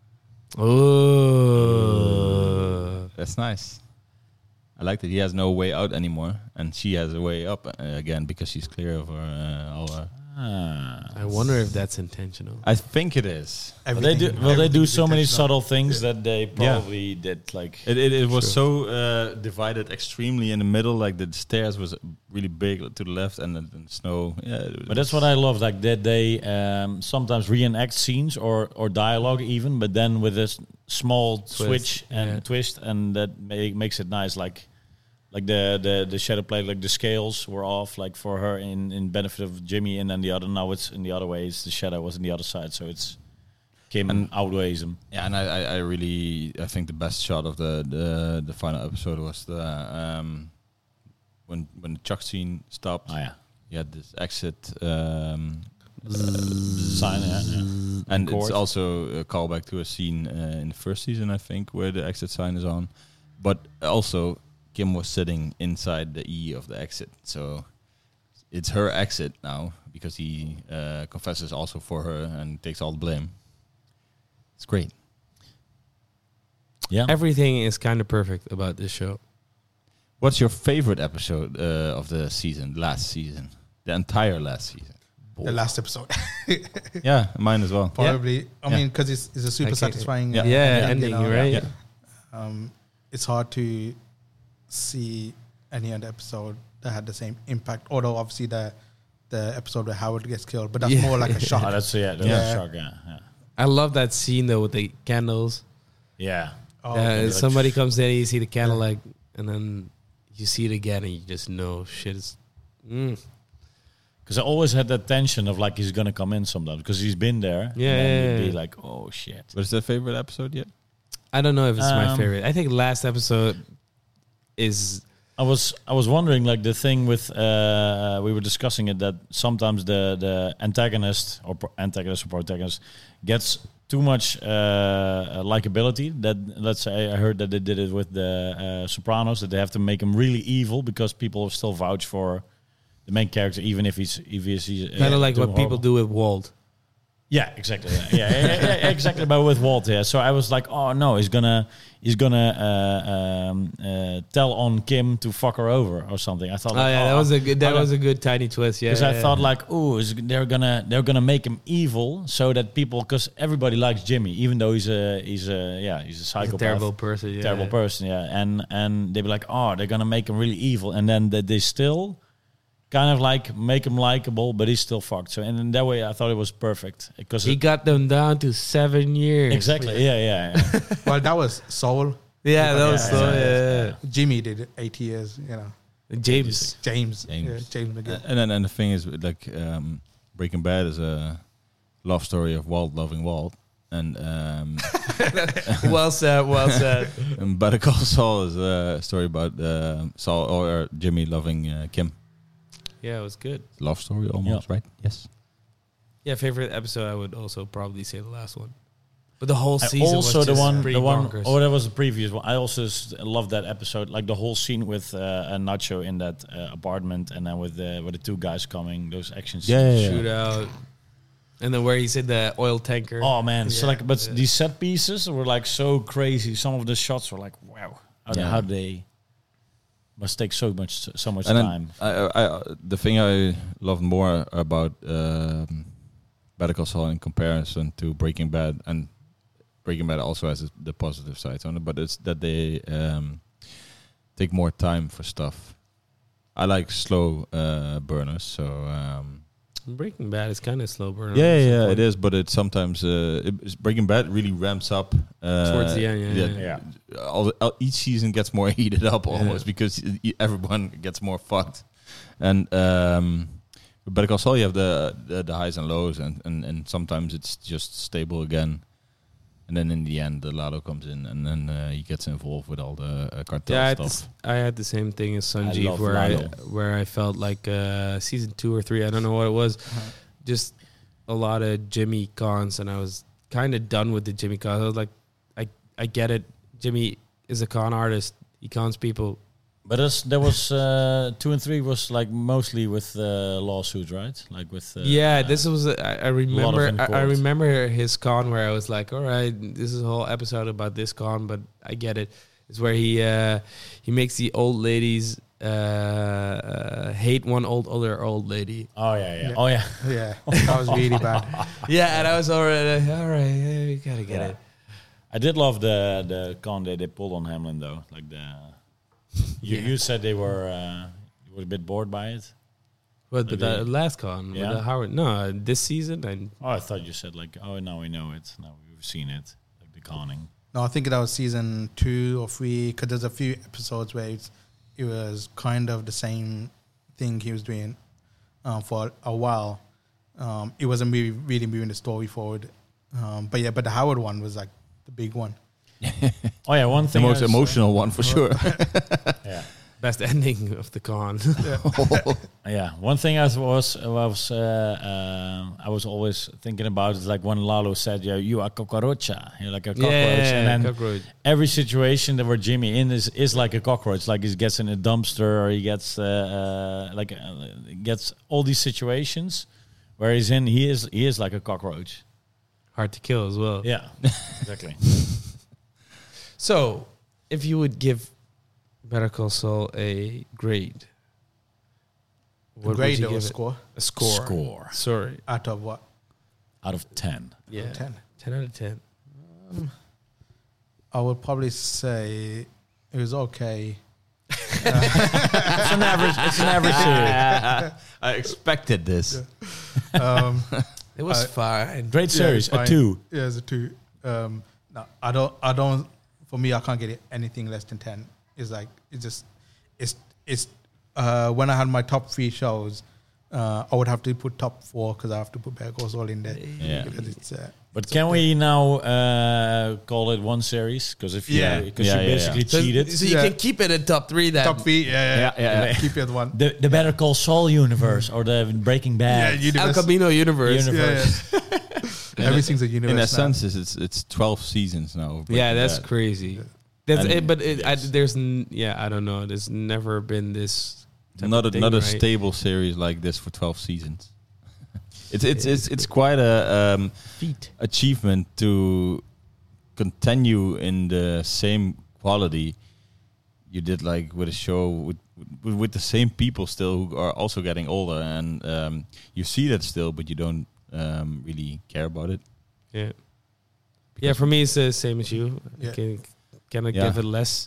Speaker 4: Oh.
Speaker 1: That's nice. I like that he has no way out anymore, and she has a way up uh, again because she's clear of her. Uh, all her.
Speaker 2: ah.
Speaker 4: I wonder if that's intentional.
Speaker 1: I think it is.
Speaker 2: Well, they do.
Speaker 3: Everything-
Speaker 2: Well, they do
Speaker 3: everything's
Speaker 2: so many
Speaker 3: intentional.
Speaker 2: subtle things that they probably did. Like
Speaker 1: It it, it was
Speaker 4: Sure.
Speaker 1: so uh, divided extremely in the middle. Like the stairs was really big to the left, and the, the snow. Yeah, it
Speaker 2: But that's what I love, like that they um, sometimes reenact scenes or, or dialogue even, but then with this small switch and
Speaker 4: yeah.
Speaker 2: twist, and that make, makes it nice. Like like the, the the shadow play, like the scales were off, like for her in, in benefit of Jimmy, and then the other now it's in the other way. It's the shadow was in the other side, so it's Kim
Speaker 1: And-
Speaker 2: outweighs him.
Speaker 1: Yeah, and I, I, I really I think the best shot of the the, the final episode was the um, when when the truck scene stopped.
Speaker 2: Oh yeah,
Speaker 1: You had this exit, um,
Speaker 2: sign yeah, yeah.
Speaker 1: and it's
Speaker 2: Chord.
Speaker 1: also a callback to a scene uh, in the first season, I think, where the exit sign is on. But also, Kim was sitting inside the E of the exit, so it's her exit now because he uh, confesses also for her and takes all the blame. It's great.
Speaker 2: Yeah.
Speaker 4: Everything is kind of perfect about this show.
Speaker 1: What's your favorite episode uh, of the season, last season? The entire last season?
Speaker 3: The last episode.
Speaker 1: Yeah, mine as well.
Speaker 3: Probably. I
Speaker 1: Yeah.
Speaker 3: mean, because it's, it's a super
Speaker 4: Okay.
Speaker 3: satisfying
Speaker 1: Yeah.
Speaker 3: uh,
Speaker 4: Yeah,
Speaker 3: ending,
Speaker 4: ending,
Speaker 3: you know?
Speaker 4: right?
Speaker 1: Yeah.
Speaker 3: Um, it's hard to see any other episode that had the same impact. Although obviously the the episode where Howard gets killed, but that's
Speaker 4: Yeah.
Speaker 3: more like a shock.
Speaker 2: Oh, that's yeah, that's
Speaker 3: Yeah.
Speaker 2: a shock. Yeah, yeah.
Speaker 4: I love that scene though with the candles.
Speaker 2: Yeah.
Speaker 3: Oh,
Speaker 4: uh,
Speaker 2: like-
Speaker 4: somebody comes in, you see the candle like, and then you see it again, and you just know shit is. Mm.
Speaker 2: Because I always had that tension of like he's gonna come in sometimes because he's been there.
Speaker 4: Yeah,
Speaker 2: and then
Speaker 4: yeah,
Speaker 2: you'd
Speaker 4: yeah.
Speaker 2: be like, oh shit.
Speaker 1: What is the favorite episode yet?
Speaker 4: I don't know if it's my
Speaker 2: Um,
Speaker 4: favorite. I think last episode is
Speaker 2: I was I was wondering like the thing with uh, we were discussing it that sometimes the the antagonist or pro- antagonist or protagonist gets too much uh, likability. That let's say I heard that they did it with the uh, Sopranos that they have to make him really evil because people still vouch for the main character even if he's if he's, he's uh,
Speaker 4: kind of like
Speaker 2: doing
Speaker 4: what people
Speaker 2: horrible.
Speaker 4: do with Walt.
Speaker 2: Yeah, exactly. Yeah, yeah, yeah, yeah, yeah, exactly. But with Walt, yeah. So I was like, oh no, he's gonna, he's gonna uh, um, uh, tell on Kim to fuck her over or something. I thought,
Speaker 4: Oh
Speaker 2: like,
Speaker 4: yeah, that was a good. That
Speaker 2: oh,
Speaker 4: was a good tiny twist. Yeah,
Speaker 2: because
Speaker 4: yeah,
Speaker 2: I
Speaker 4: yeah.
Speaker 2: thought like, oh, is they're gonna, they're gonna make him evil so that people, because everybody likes Jimmy, even though he's a, he's a, yeah, he's a
Speaker 4: He's
Speaker 2: psychopath,
Speaker 4: a terrible person. Yeah.
Speaker 2: terrible person, yeah. And and they'd be like, oh, they're gonna make him really evil, and then they, they still kind of like make him likable, but he's still fucked. So and in that way, I thought it was perfect because
Speaker 4: He
Speaker 2: it,
Speaker 4: got them down to seven years.
Speaker 2: exactly, yeah, yeah. yeah.
Speaker 3: well, that was Soul.
Speaker 4: Yeah, that was
Speaker 2: Yeah,
Speaker 4: so.
Speaker 2: yeah,
Speaker 4: Yeah,
Speaker 2: yeah.
Speaker 3: Jimmy did it eight years, you know.
Speaker 4: James.
Speaker 3: James.
Speaker 1: James.
Speaker 3: Yeah, James McGill.
Speaker 1: And then and the thing is, like um, Breaking Bad is a love story of Walt loving Walt, and um,
Speaker 4: Well said. Well said.
Speaker 1: and Better Call Saul is a story about uh, Saul or Jimmy loving uh, Kim.
Speaker 4: Yeah, it was good.
Speaker 1: Love story almost, right? Yes.
Speaker 4: Yeah, favorite episode. I would also probably say the last one. But the whole
Speaker 2: I
Speaker 4: season
Speaker 2: also
Speaker 4: was
Speaker 2: the
Speaker 4: just
Speaker 2: one,
Speaker 4: pretty
Speaker 2: the one,
Speaker 4: bonkers.
Speaker 2: oh, that was the previous one. I also s- loved that episode, like the whole scene with uh, Nacho in that uh, apartment, and then with the with the two guys coming, those action scenes.
Speaker 1: Yeah, yeah, yeah.
Speaker 4: Shootout. And then where he's in the oil tanker.
Speaker 2: Oh man, so
Speaker 4: Yeah.
Speaker 2: like, but
Speaker 4: Yeah.
Speaker 2: these set pieces were like so crazy. Some of the shots were like, wow, how,
Speaker 1: Yeah.
Speaker 2: how they must take so much, so much
Speaker 1: And then
Speaker 2: time.
Speaker 1: I, I, I, the thing I loved more about um, Better Call Saul in comparison to Breaking Bad, and Breaking Bad also has the positive sides on it, but it's that they um, take more time for stuff. I like slow uh, burners, so um,
Speaker 4: Breaking Bad is kind of slow burn.
Speaker 1: yeah, yeah, it is. But it sometimes uh, it, it's Breaking Bad really ramps up uh,
Speaker 4: Towards the end, yeah, yeah.
Speaker 2: Yeah.
Speaker 1: All the, all, each season gets more heated up almost
Speaker 4: Yeah.
Speaker 1: because y- everyone gets more fucked. And um, with Better Call Saul, you have the, the the highs and lows, and, and, and sometimes it's just stable again. And then in the end, the Lalo comes in, and then uh, he gets involved with all the uh, cartel
Speaker 4: Yeah, I had,
Speaker 1: stuff.
Speaker 4: this, I had the same thing as Sanjeev,
Speaker 2: love
Speaker 4: where I
Speaker 2: Lalo.
Speaker 4: where I felt like uh, season two or three, I don't know what it was, just a lot of Jimmy cons, and I was kind of done with the Jimmy cons. I was like, I I get it. Jimmy is a con artist. He cons people.
Speaker 2: But that's, that was uh, two and three was like mostly with uh, lawsuits, right? Like with uh,
Speaker 4: yeah, this was. A, I, I remember.
Speaker 2: in
Speaker 4: I, I
Speaker 2: court.
Speaker 4: remember his con where I was like, all right, this is a whole episode about this con, but I get it. It's where he uh, he makes the old ladies uh, uh, hate one old other old lady.
Speaker 2: Oh yeah, yeah.
Speaker 3: Yeah.
Speaker 2: Oh yeah.
Speaker 3: Yeah, that was really bad.
Speaker 4: Yeah, and I was already all right. Yeah, we gotta get
Speaker 2: Yeah.
Speaker 4: it.
Speaker 2: I did love the the con that they pulled on Hamlin though. Like the you,
Speaker 4: Yeah.
Speaker 2: you said they were uh, you were a bit bored by it.
Speaker 4: But the,
Speaker 2: Okay.
Speaker 4: the last con,
Speaker 2: Yeah.
Speaker 4: with the Howard. No, this season. And
Speaker 2: Oh, I thought you said like, oh, now we know it. Now we've seen it, like the conning.
Speaker 3: No, I think that was season two or three, because there's a few episodes where it's, it was kind of the same thing he was doing um, for a while. Um, it wasn't really, really moving the story forward. Um, but yeah, but the Howard one was like the big one.
Speaker 2: Oh yeah, one
Speaker 1: The
Speaker 2: thing.
Speaker 1: most
Speaker 2: I was, uh,
Speaker 1: emotional one for sure.
Speaker 2: yeah,
Speaker 4: best ending of the con.
Speaker 2: yeah. One thing I was was, was uh, um, I was always thinking about is like when Lalo said, "Yeah, you are cockroacha. You're like a cockroach." and then
Speaker 4: cockroach.
Speaker 2: every situation that where Jimmy in is is like a cockroach. Like he gets in a dumpster or he gets uh, uh, like uh, gets all these situations where he's in, he is he is like a cockroach.
Speaker 4: Hard to kill as well.
Speaker 2: Yeah, exactly.
Speaker 4: So, if you would give Better Call Saul a grade, what
Speaker 3: Grade
Speaker 4: would you
Speaker 3: or
Speaker 4: give it?
Speaker 3: score
Speaker 4: A score.
Speaker 2: Score
Speaker 4: Sorry.
Speaker 3: out of what?
Speaker 2: out of ten.
Speaker 4: Yeah.
Speaker 3: ten.
Speaker 4: ten out of ten.
Speaker 3: I would probably say it was okay.
Speaker 2: It's an average. It's an average series.
Speaker 1: I expected this.
Speaker 3: Um,
Speaker 4: It was
Speaker 3: I-
Speaker 4: fine.
Speaker 2: Great
Speaker 3: Yeah,
Speaker 2: series.
Speaker 3: it's
Speaker 2: A
Speaker 3: fine.
Speaker 2: two.
Speaker 3: Yeah, it's a two. Um, no, I don't. I don't. For me, I can't get it anything less than ten. It's like it's just it's it's. Uh, when I had my top three shows, uh, I would have to put top four because I have to put Better Call Saul in there.
Speaker 1: Yeah.
Speaker 3: Because it's. Uh,
Speaker 2: But can we now uh, call it one series? Because if you
Speaker 3: Yeah.
Speaker 2: because
Speaker 1: Yeah,
Speaker 2: you
Speaker 1: yeah,
Speaker 2: basically
Speaker 4: So,
Speaker 2: cheated.
Speaker 4: so you
Speaker 3: Yeah.
Speaker 4: can keep it in top three then.
Speaker 3: top three, yeah, yeah,
Speaker 1: Yeah, yeah, yeah.
Speaker 3: Keep it at one.
Speaker 2: The the Better Call Saul universe or the Breaking
Speaker 3: Yeah,
Speaker 2: Bad.
Speaker 4: El
Speaker 3: universe.
Speaker 4: Camino universe.
Speaker 2: Universe.
Speaker 3: Yeah, yeah. Everything's a universe.
Speaker 1: In
Speaker 3: now.
Speaker 1: essence, it's it's, it's twelve seasons now. of
Speaker 4: Yeah,
Speaker 1: Breaking
Speaker 4: that's
Speaker 1: Bad.
Speaker 4: crazy. That's
Speaker 1: And
Speaker 4: it, but it, I,
Speaker 1: yes.
Speaker 4: there's n- yeah, I don't know. There's never been this. type
Speaker 1: Not a,
Speaker 4: of thing,
Speaker 1: not a
Speaker 4: right?
Speaker 1: stable series like this for twelve seasons. it's it's it's it's quite a um,
Speaker 4: feat.
Speaker 1: achievement to continue in the same quality you did, like with a show with with, with the same people still who are also getting older, and um, you see that still, but you don't um, really care about it.
Speaker 4: Yeah, yeah. For me, it's the same as you.
Speaker 3: Yeah.
Speaker 4: I can can I
Speaker 1: Yeah.
Speaker 4: give it less?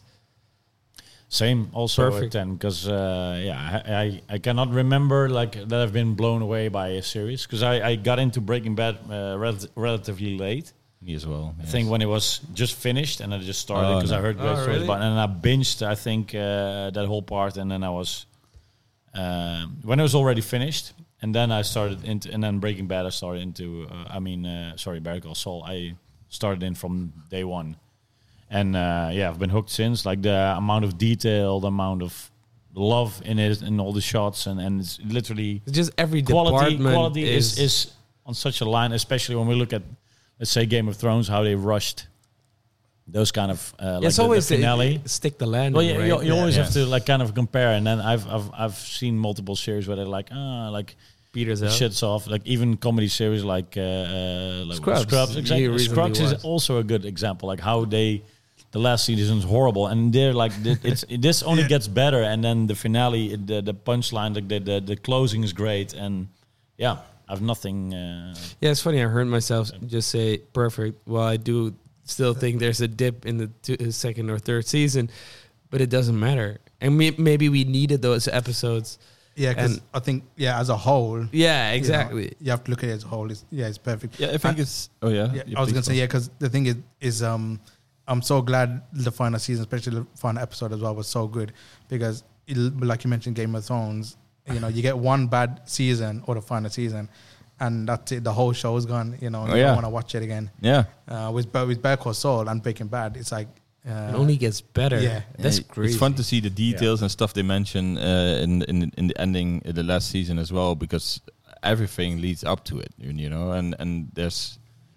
Speaker 2: Same, also
Speaker 4: Perfect.
Speaker 2: at ten. Because uh, yeah, I, I I cannot remember like that I've been blown away by a series. Because I, I got into Breaking Bad uh, rel- relatively late.
Speaker 1: Me as well.
Speaker 2: I think when it was just finished, and I just started
Speaker 1: Oh,
Speaker 2: because
Speaker 1: no.
Speaker 2: I heard great
Speaker 4: Oh,
Speaker 2: stories
Speaker 4: really?
Speaker 2: about it, and I binged. I think uh, that whole part, and then I was um, when it was already finished, and then I started into, and then Breaking Bad I started into. Uh, I mean, uh, sorry, Better Call Saul. I started in from day one, and uh, yeah, I've been hooked since. Like the amount of detail, the amount of love in it, and all the shots, and and it's literally
Speaker 4: It's just every
Speaker 2: quality.
Speaker 4: department
Speaker 2: Quality is,
Speaker 4: is,
Speaker 2: is on such a line, especially when we look at, let's say, Game of Thrones, how they rushed those kind of uh, like
Speaker 4: it's
Speaker 2: the, the
Speaker 4: always the-
Speaker 2: finale.
Speaker 4: stick the landing.
Speaker 2: Well, yeah,
Speaker 4: right?
Speaker 2: you, you
Speaker 3: Yeah,
Speaker 2: always
Speaker 1: yeah.
Speaker 2: have to like kind of compare, and then I've I've I've seen multiple series where they're like ah like
Speaker 4: Peters
Speaker 2: it
Speaker 4: out.
Speaker 2: shits off, like even comedy series like uh, uh like
Speaker 4: Scrubs.
Speaker 2: Scrubs,
Speaker 4: You
Speaker 2: exactly.
Speaker 4: recently
Speaker 2: Scrubs is
Speaker 4: watched.
Speaker 2: also a good example, like how they. The last season is horrible, and they're like, th- it's this only
Speaker 3: Yeah.
Speaker 2: gets better, and then the finale, the the punchline, like the, the the closing is great, and yeah, I've nothing. Uh,
Speaker 4: Yeah, it's funny. I heard myself just say perfect. Well, I do still think there's a dip in the two, uh, second or third season, but it doesn't matter. And may, maybe we needed those episodes.
Speaker 3: Yeah, because
Speaker 4: And-
Speaker 3: I think yeah, as a whole,
Speaker 4: Yeah,
Speaker 3: you know,
Speaker 4: exactly.
Speaker 3: you have to look at it as a whole. It's, yeah, it's perfect.
Speaker 1: Yeah, I think
Speaker 3: And-
Speaker 1: it's. Oh yeah.
Speaker 3: Yeah,
Speaker 1: You
Speaker 3: I was
Speaker 1: please
Speaker 3: gonna say
Speaker 1: go.
Speaker 3: yeah, because the thing is, is um, I'm so glad the final season, especially the final episode as well, was so good because, it, like you mentioned, Game of Thrones. You know, you get one bad season or the final season, and that's it. The whole show is gone. You know,
Speaker 1: Oh,
Speaker 3: you
Speaker 1: yeah.
Speaker 3: don't want to watch it again.
Speaker 1: Yeah.
Speaker 3: Uh, with Be- with Better Call Saul and Breaking Bad, it's like uh,
Speaker 4: It only gets better.
Speaker 3: yeah.
Speaker 4: That's
Speaker 1: Yeah,
Speaker 4: crazy.
Speaker 1: It's fun to see the details and stuff they mention uh, in in in the ending of the last season as well, because everything leads up to it, you you know, and and there's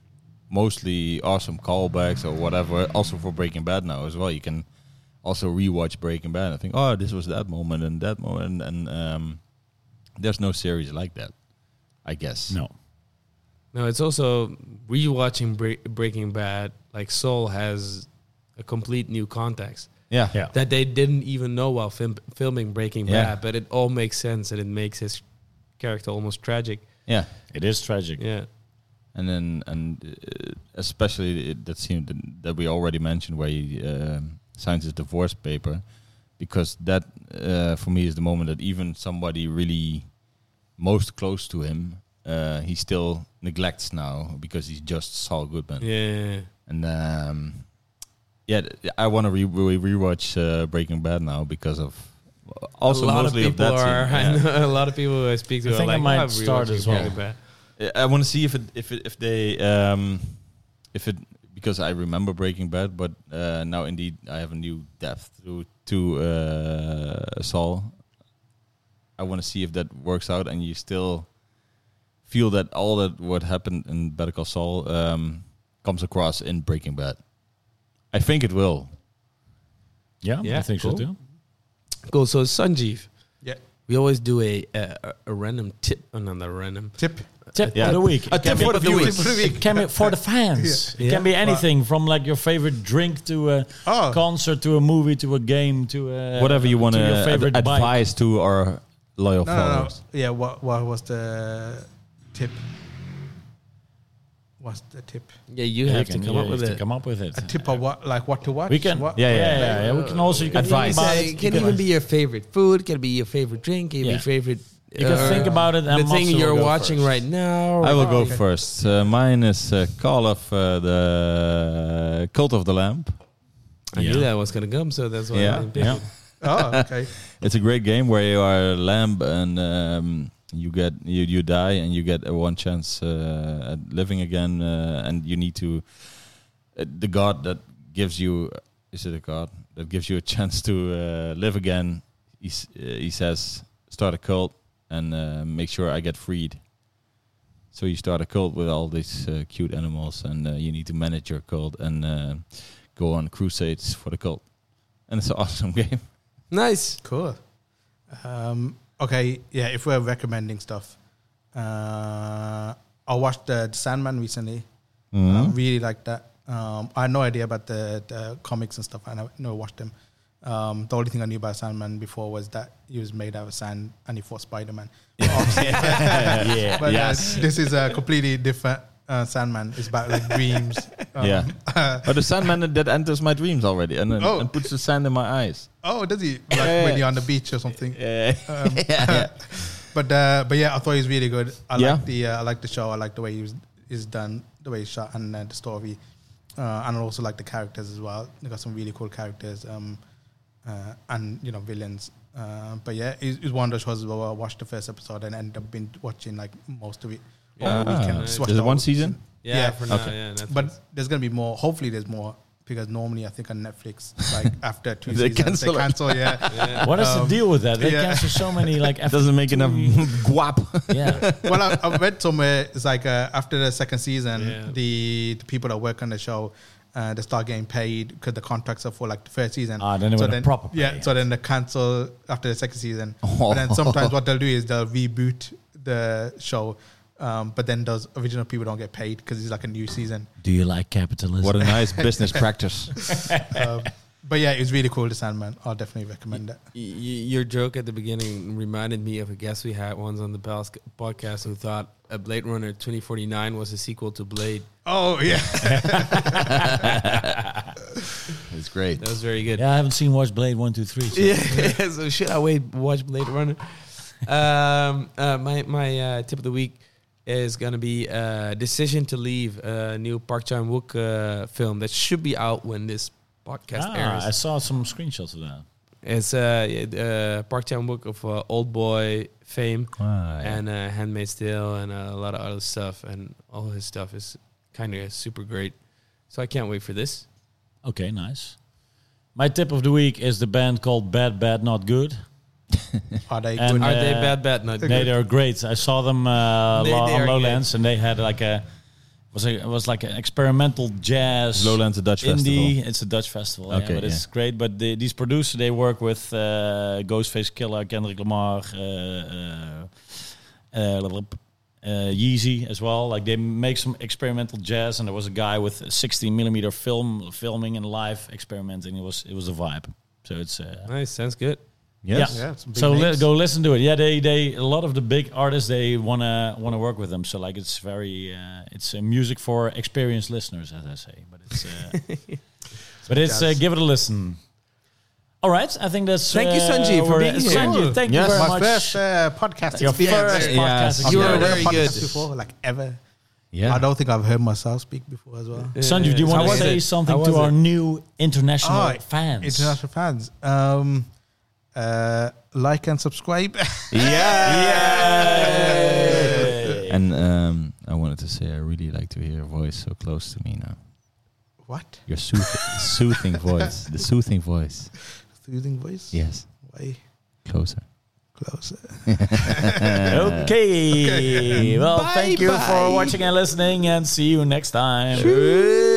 Speaker 1: mostly awesome callbacks or whatever. Also for Breaking Bad now as well, you can also rewatch Breaking Bad and think, oh, this was that moment and that moment, and um, there's no series like that, I guess.
Speaker 2: no,
Speaker 4: No, it's also rewatching Bre- Breaking Bad. Like Saul has a complete new context
Speaker 1: Yeah.
Speaker 2: yeah,
Speaker 4: that they didn't even know while film- filming Breaking
Speaker 1: Yeah.
Speaker 4: Bad, but it all makes sense and it makes his character almost tragic.
Speaker 1: Yeah.
Speaker 2: it is tragic.
Speaker 4: Yeah.
Speaker 1: And then, and uh, especially it- that scene that, that we already mentioned, where he um signs his divorce paper, because that uh, for me is the moment that even somebody really most close to him, uh, he still neglects now because he's just Saul Goodman.
Speaker 4: Yeah.
Speaker 1: And um, yeah, th- I want to re- re- rewatch uh, Breaking Bad now because of also
Speaker 4: a lot
Speaker 1: mostly
Speaker 4: of
Speaker 1: of,
Speaker 4: people
Speaker 1: that
Speaker 4: are.
Speaker 1: scene.
Speaker 4: I
Speaker 1: Yeah.
Speaker 4: know a lot of people who I speak to
Speaker 2: I
Speaker 4: are
Speaker 2: think I
Speaker 4: like,
Speaker 2: might
Speaker 4: "Oh, I'm
Speaker 2: start
Speaker 4: rewatching
Speaker 2: as well."
Speaker 4: Breaking Bad."
Speaker 1: I want to see if it if it if they um if it because I remember Breaking Bad, but uh, now indeed I have a new depth to to uh, Saul. I want to see if that works out, and you still feel that all that what happened in Better Call Saul um, comes across in Breaking Bad. I think it will.
Speaker 2: Yeah,
Speaker 4: Yeah,
Speaker 2: I think
Speaker 4: cool.
Speaker 2: so too.
Speaker 4: Cool. So Sanjeev,
Speaker 3: Yeah.
Speaker 4: we always do a a, a random tip, another random
Speaker 3: Tip.
Speaker 2: Tip
Speaker 1: Yeah.
Speaker 2: of the week.
Speaker 1: A
Speaker 2: It can
Speaker 1: tip
Speaker 2: be-
Speaker 1: for the viewers.
Speaker 3: Tip for the week.
Speaker 2: It can be for the fans. It
Speaker 4: Yeah.
Speaker 2: can be anything from like your favorite drink to a
Speaker 3: Oh.
Speaker 2: concert to a movie to a game to a
Speaker 1: Whatever you want
Speaker 2: to
Speaker 1: to
Speaker 2: your favorite bike.
Speaker 1: advise to our loyal
Speaker 3: No, no, no.
Speaker 1: followers.
Speaker 3: Yeah, what what was the tip? What's the tip?
Speaker 4: Yeah, you
Speaker 2: Yeah,
Speaker 4: have
Speaker 2: can-
Speaker 4: to come
Speaker 2: yeah,
Speaker 4: up
Speaker 2: you
Speaker 4: with
Speaker 2: have to
Speaker 4: it.
Speaker 2: come up with it.
Speaker 3: A tip of what? Like what to watch?
Speaker 2: We can.
Speaker 3: What?
Speaker 2: Yeah,
Speaker 1: Yeah,
Speaker 2: yeah,
Speaker 1: yeah.
Speaker 2: yeah, We can also you can
Speaker 1: Advice.
Speaker 2: think about
Speaker 4: Say,
Speaker 2: it.
Speaker 4: it can
Speaker 2: You
Speaker 4: even be your favorite food, can be your favorite drink, can be
Speaker 2: Yeah.
Speaker 4: your favorite.
Speaker 2: You can think about it. And
Speaker 4: the thing
Speaker 2: Mats will
Speaker 4: you're
Speaker 2: go
Speaker 4: watching
Speaker 2: first.
Speaker 4: right now.
Speaker 1: I will
Speaker 3: Oh,
Speaker 1: go
Speaker 3: okay.
Speaker 1: first. Uh, mine is uh, Call of uh, the Cult of the Lamb.
Speaker 4: I
Speaker 2: Yeah.
Speaker 4: knew that was gonna come, so that's why
Speaker 1: Yeah.
Speaker 4: I didn't pick
Speaker 2: Yeah.
Speaker 4: it.
Speaker 3: Oh, okay.
Speaker 1: It's a great game where you are a lamb and um, you get you you die and you get a one chance uh, at living again, uh, and you need to uh, the god that gives you is it a god that gives you a chance to uh, live again. He s- uh, he says start a cult and uh, make sure I get freed. So you start a cult with all these uh, cute animals, and uh, you need to manage your cult and uh, go on crusades for the cult. And it's an awesome game.
Speaker 4: Nice.
Speaker 3: Cool. Um, okay, yeah. If we're recommending stuff, uh, I watched the, the Sandman recently.
Speaker 1: Mhm.
Speaker 3: I really liked that. Um, I had no idea about the, the comics and stuff. I never, never watched them. Um, the only thing I knew about Sandman before was that he was made out of sand and he fought Spider-Man.
Speaker 2: Yeah.
Speaker 3: But
Speaker 1: Yes.
Speaker 3: uh, this is a completely different uh, Sandman. It's about like dreams. Um,
Speaker 1: Yeah. Oh, the Sandman that enters my dreams already and,
Speaker 3: Oh.
Speaker 1: and puts the sand in my eyes.
Speaker 3: Oh, does he? Like
Speaker 1: Yeah.
Speaker 3: when you're on the beach or something.
Speaker 1: Yeah.
Speaker 3: Um,
Speaker 1: yeah.
Speaker 3: But uh, but yeah, I thought he was really good. I
Speaker 1: Yeah.
Speaker 3: like the uh, I like the show. I like the way he was is done, the way he's shot, and uh, the story. Uh, and I also like the characters as well. They got some really cool characters, um, uh, and you know villains. Uh, but yeah, it's, it's one of those shows where I watched the first episode and ended up been watching like most of it over
Speaker 1: Ah.
Speaker 3: the weekend.
Speaker 4: Nice.
Speaker 3: Just watched
Speaker 1: Is it
Speaker 3: the
Speaker 1: one
Speaker 3: whole
Speaker 1: season?
Speaker 4: Yeah,
Speaker 3: Yeah.
Speaker 4: for now,
Speaker 1: Okay.
Speaker 4: yeah. Netflix.
Speaker 3: But there's gonna be more. Hopefully, there's more because normally I think on Netflix, like after two
Speaker 1: They
Speaker 3: seasons,
Speaker 1: cancel
Speaker 3: they
Speaker 1: it.
Speaker 3: cancel. Yeah.
Speaker 4: yeah.
Speaker 2: What is
Speaker 3: Um,
Speaker 2: the deal with that? They
Speaker 3: yeah.
Speaker 2: cancel so many like.
Speaker 1: It doesn't make enough guap.
Speaker 2: Yeah.
Speaker 3: Well, I, I read somewhere it's like uh, after the second season,
Speaker 4: Yeah.
Speaker 3: the, the people that work on the show, uh, they start getting paid because the contracts are for like the first season.
Speaker 2: Ah, then they want a proper pay,
Speaker 3: Yeah,
Speaker 2: yeah.
Speaker 3: so then they cancel after the second season.
Speaker 1: Oh.
Speaker 3: But then sometimes what they'll do is they'll reboot the show, um, but then those original people don't get paid because it's like a new season.
Speaker 2: Do you like capitalism?
Speaker 1: What a nice business practice.
Speaker 3: um, but yeah, it was really cool, The Sandman. I'll definitely recommend it.
Speaker 4: Y- y- your joke at the beginning reminded me of a guest we had once on the Pals- podcast who thought a Blade Runner twenty forty-nine was a sequel to Blade.
Speaker 3: Oh, yeah.
Speaker 1: It's great.
Speaker 4: That was very good.
Speaker 2: Yeah, I haven't seen Watch Blade one, two, three. So.
Speaker 4: Yeah, so should I wait watch Blade Runner? um, uh, my my uh, tip of the week is gonna be uh, Decision to Leave, a new Park Chan Wook uh, film that should be out when this podcast
Speaker 2: Ah,
Speaker 4: airs.
Speaker 2: I saw some screenshots of that.
Speaker 4: It's uh, uh, Park Chan Wook of uh, Old Boy fame
Speaker 1: Ah, yeah.
Speaker 4: and uh, Handmaid's Tale and uh, a lot of other stuff, and all his stuff is kind of super great. So I can't wait for this.
Speaker 2: Okay, nice. My tip of the week is the band called Bad Bad Not Good.
Speaker 3: Are they
Speaker 2: And,
Speaker 3: good?
Speaker 4: Are they
Speaker 2: uh,
Speaker 4: bad? Bad? Not
Speaker 2: They,
Speaker 4: good.
Speaker 2: they're great. I saw them uh,
Speaker 4: They-
Speaker 2: lo-
Speaker 4: they
Speaker 2: on
Speaker 4: are
Speaker 2: Lowlands, and they had like a was a, it was like an experimental jazz
Speaker 1: Lowlands, a Dutch
Speaker 2: indie.
Speaker 1: festival.
Speaker 2: It's a Dutch festival,
Speaker 1: Okay,
Speaker 2: yeah, but it's
Speaker 1: yeah.
Speaker 2: great. But the, these producers, they work with uh, Ghostface Killer, Kendrick Lamar, uh, uh, uh, uh, Yeezy as well. Like they make some experimental jazz, and there was a guy with a sixteen millimeter film filming and live experimenting. It was it was a vibe. So it's uh,
Speaker 4: Nice, sounds good.
Speaker 1: Yes.
Speaker 3: Yeah, some big
Speaker 2: so li-
Speaker 3: names.
Speaker 2: go listen to it. Yeah, they they a lot of the big artists they wanna wanna work with them. So like it's very uh, it's uh, music for experienced listeners, as I say. But it's uh, but it's uh,
Speaker 3: jazz.
Speaker 2: give it a listen. All right, I think that's.
Speaker 4: Thank you,
Speaker 2: uh,
Speaker 4: Sanjeev, for
Speaker 2: we're-
Speaker 4: being here.
Speaker 2: Sanjeev, thank
Speaker 1: Yes.
Speaker 2: you very
Speaker 3: My
Speaker 2: much.
Speaker 3: first uh, podcast
Speaker 2: Your
Speaker 3: experience.
Speaker 2: first
Speaker 1: Yes.
Speaker 2: podcast.
Speaker 3: I've
Speaker 4: You
Speaker 3: never
Speaker 4: were
Speaker 3: done a
Speaker 4: very
Speaker 3: podcast
Speaker 4: good.
Speaker 3: before, like ever.
Speaker 1: Yeah.
Speaker 3: I don't think I've heard myself speak before as well.
Speaker 2: Sanjeev, do you
Speaker 4: How
Speaker 2: want to
Speaker 4: was
Speaker 2: say
Speaker 4: it?
Speaker 2: something
Speaker 4: How
Speaker 2: to
Speaker 4: was
Speaker 2: our
Speaker 4: it?
Speaker 2: new international
Speaker 3: Oh,
Speaker 2: fans?
Speaker 3: International fans, um, uh, like and subscribe.
Speaker 2: Yay!
Speaker 1: And um, I wanted to say I really like to hear your voice so close to me now.
Speaker 3: What?
Speaker 1: Your sooth- soothing voice. The soothing voice.
Speaker 3: Soothing voice?
Speaker 1: Yes.
Speaker 3: Way
Speaker 1: Closer.
Speaker 3: closer.
Speaker 2: Okay. Well,
Speaker 4: Bye
Speaker 2: thank you
Speaker 4: bye.
Speaker 2: for watching and listening, and see you next time.
Speaker 4: Hey.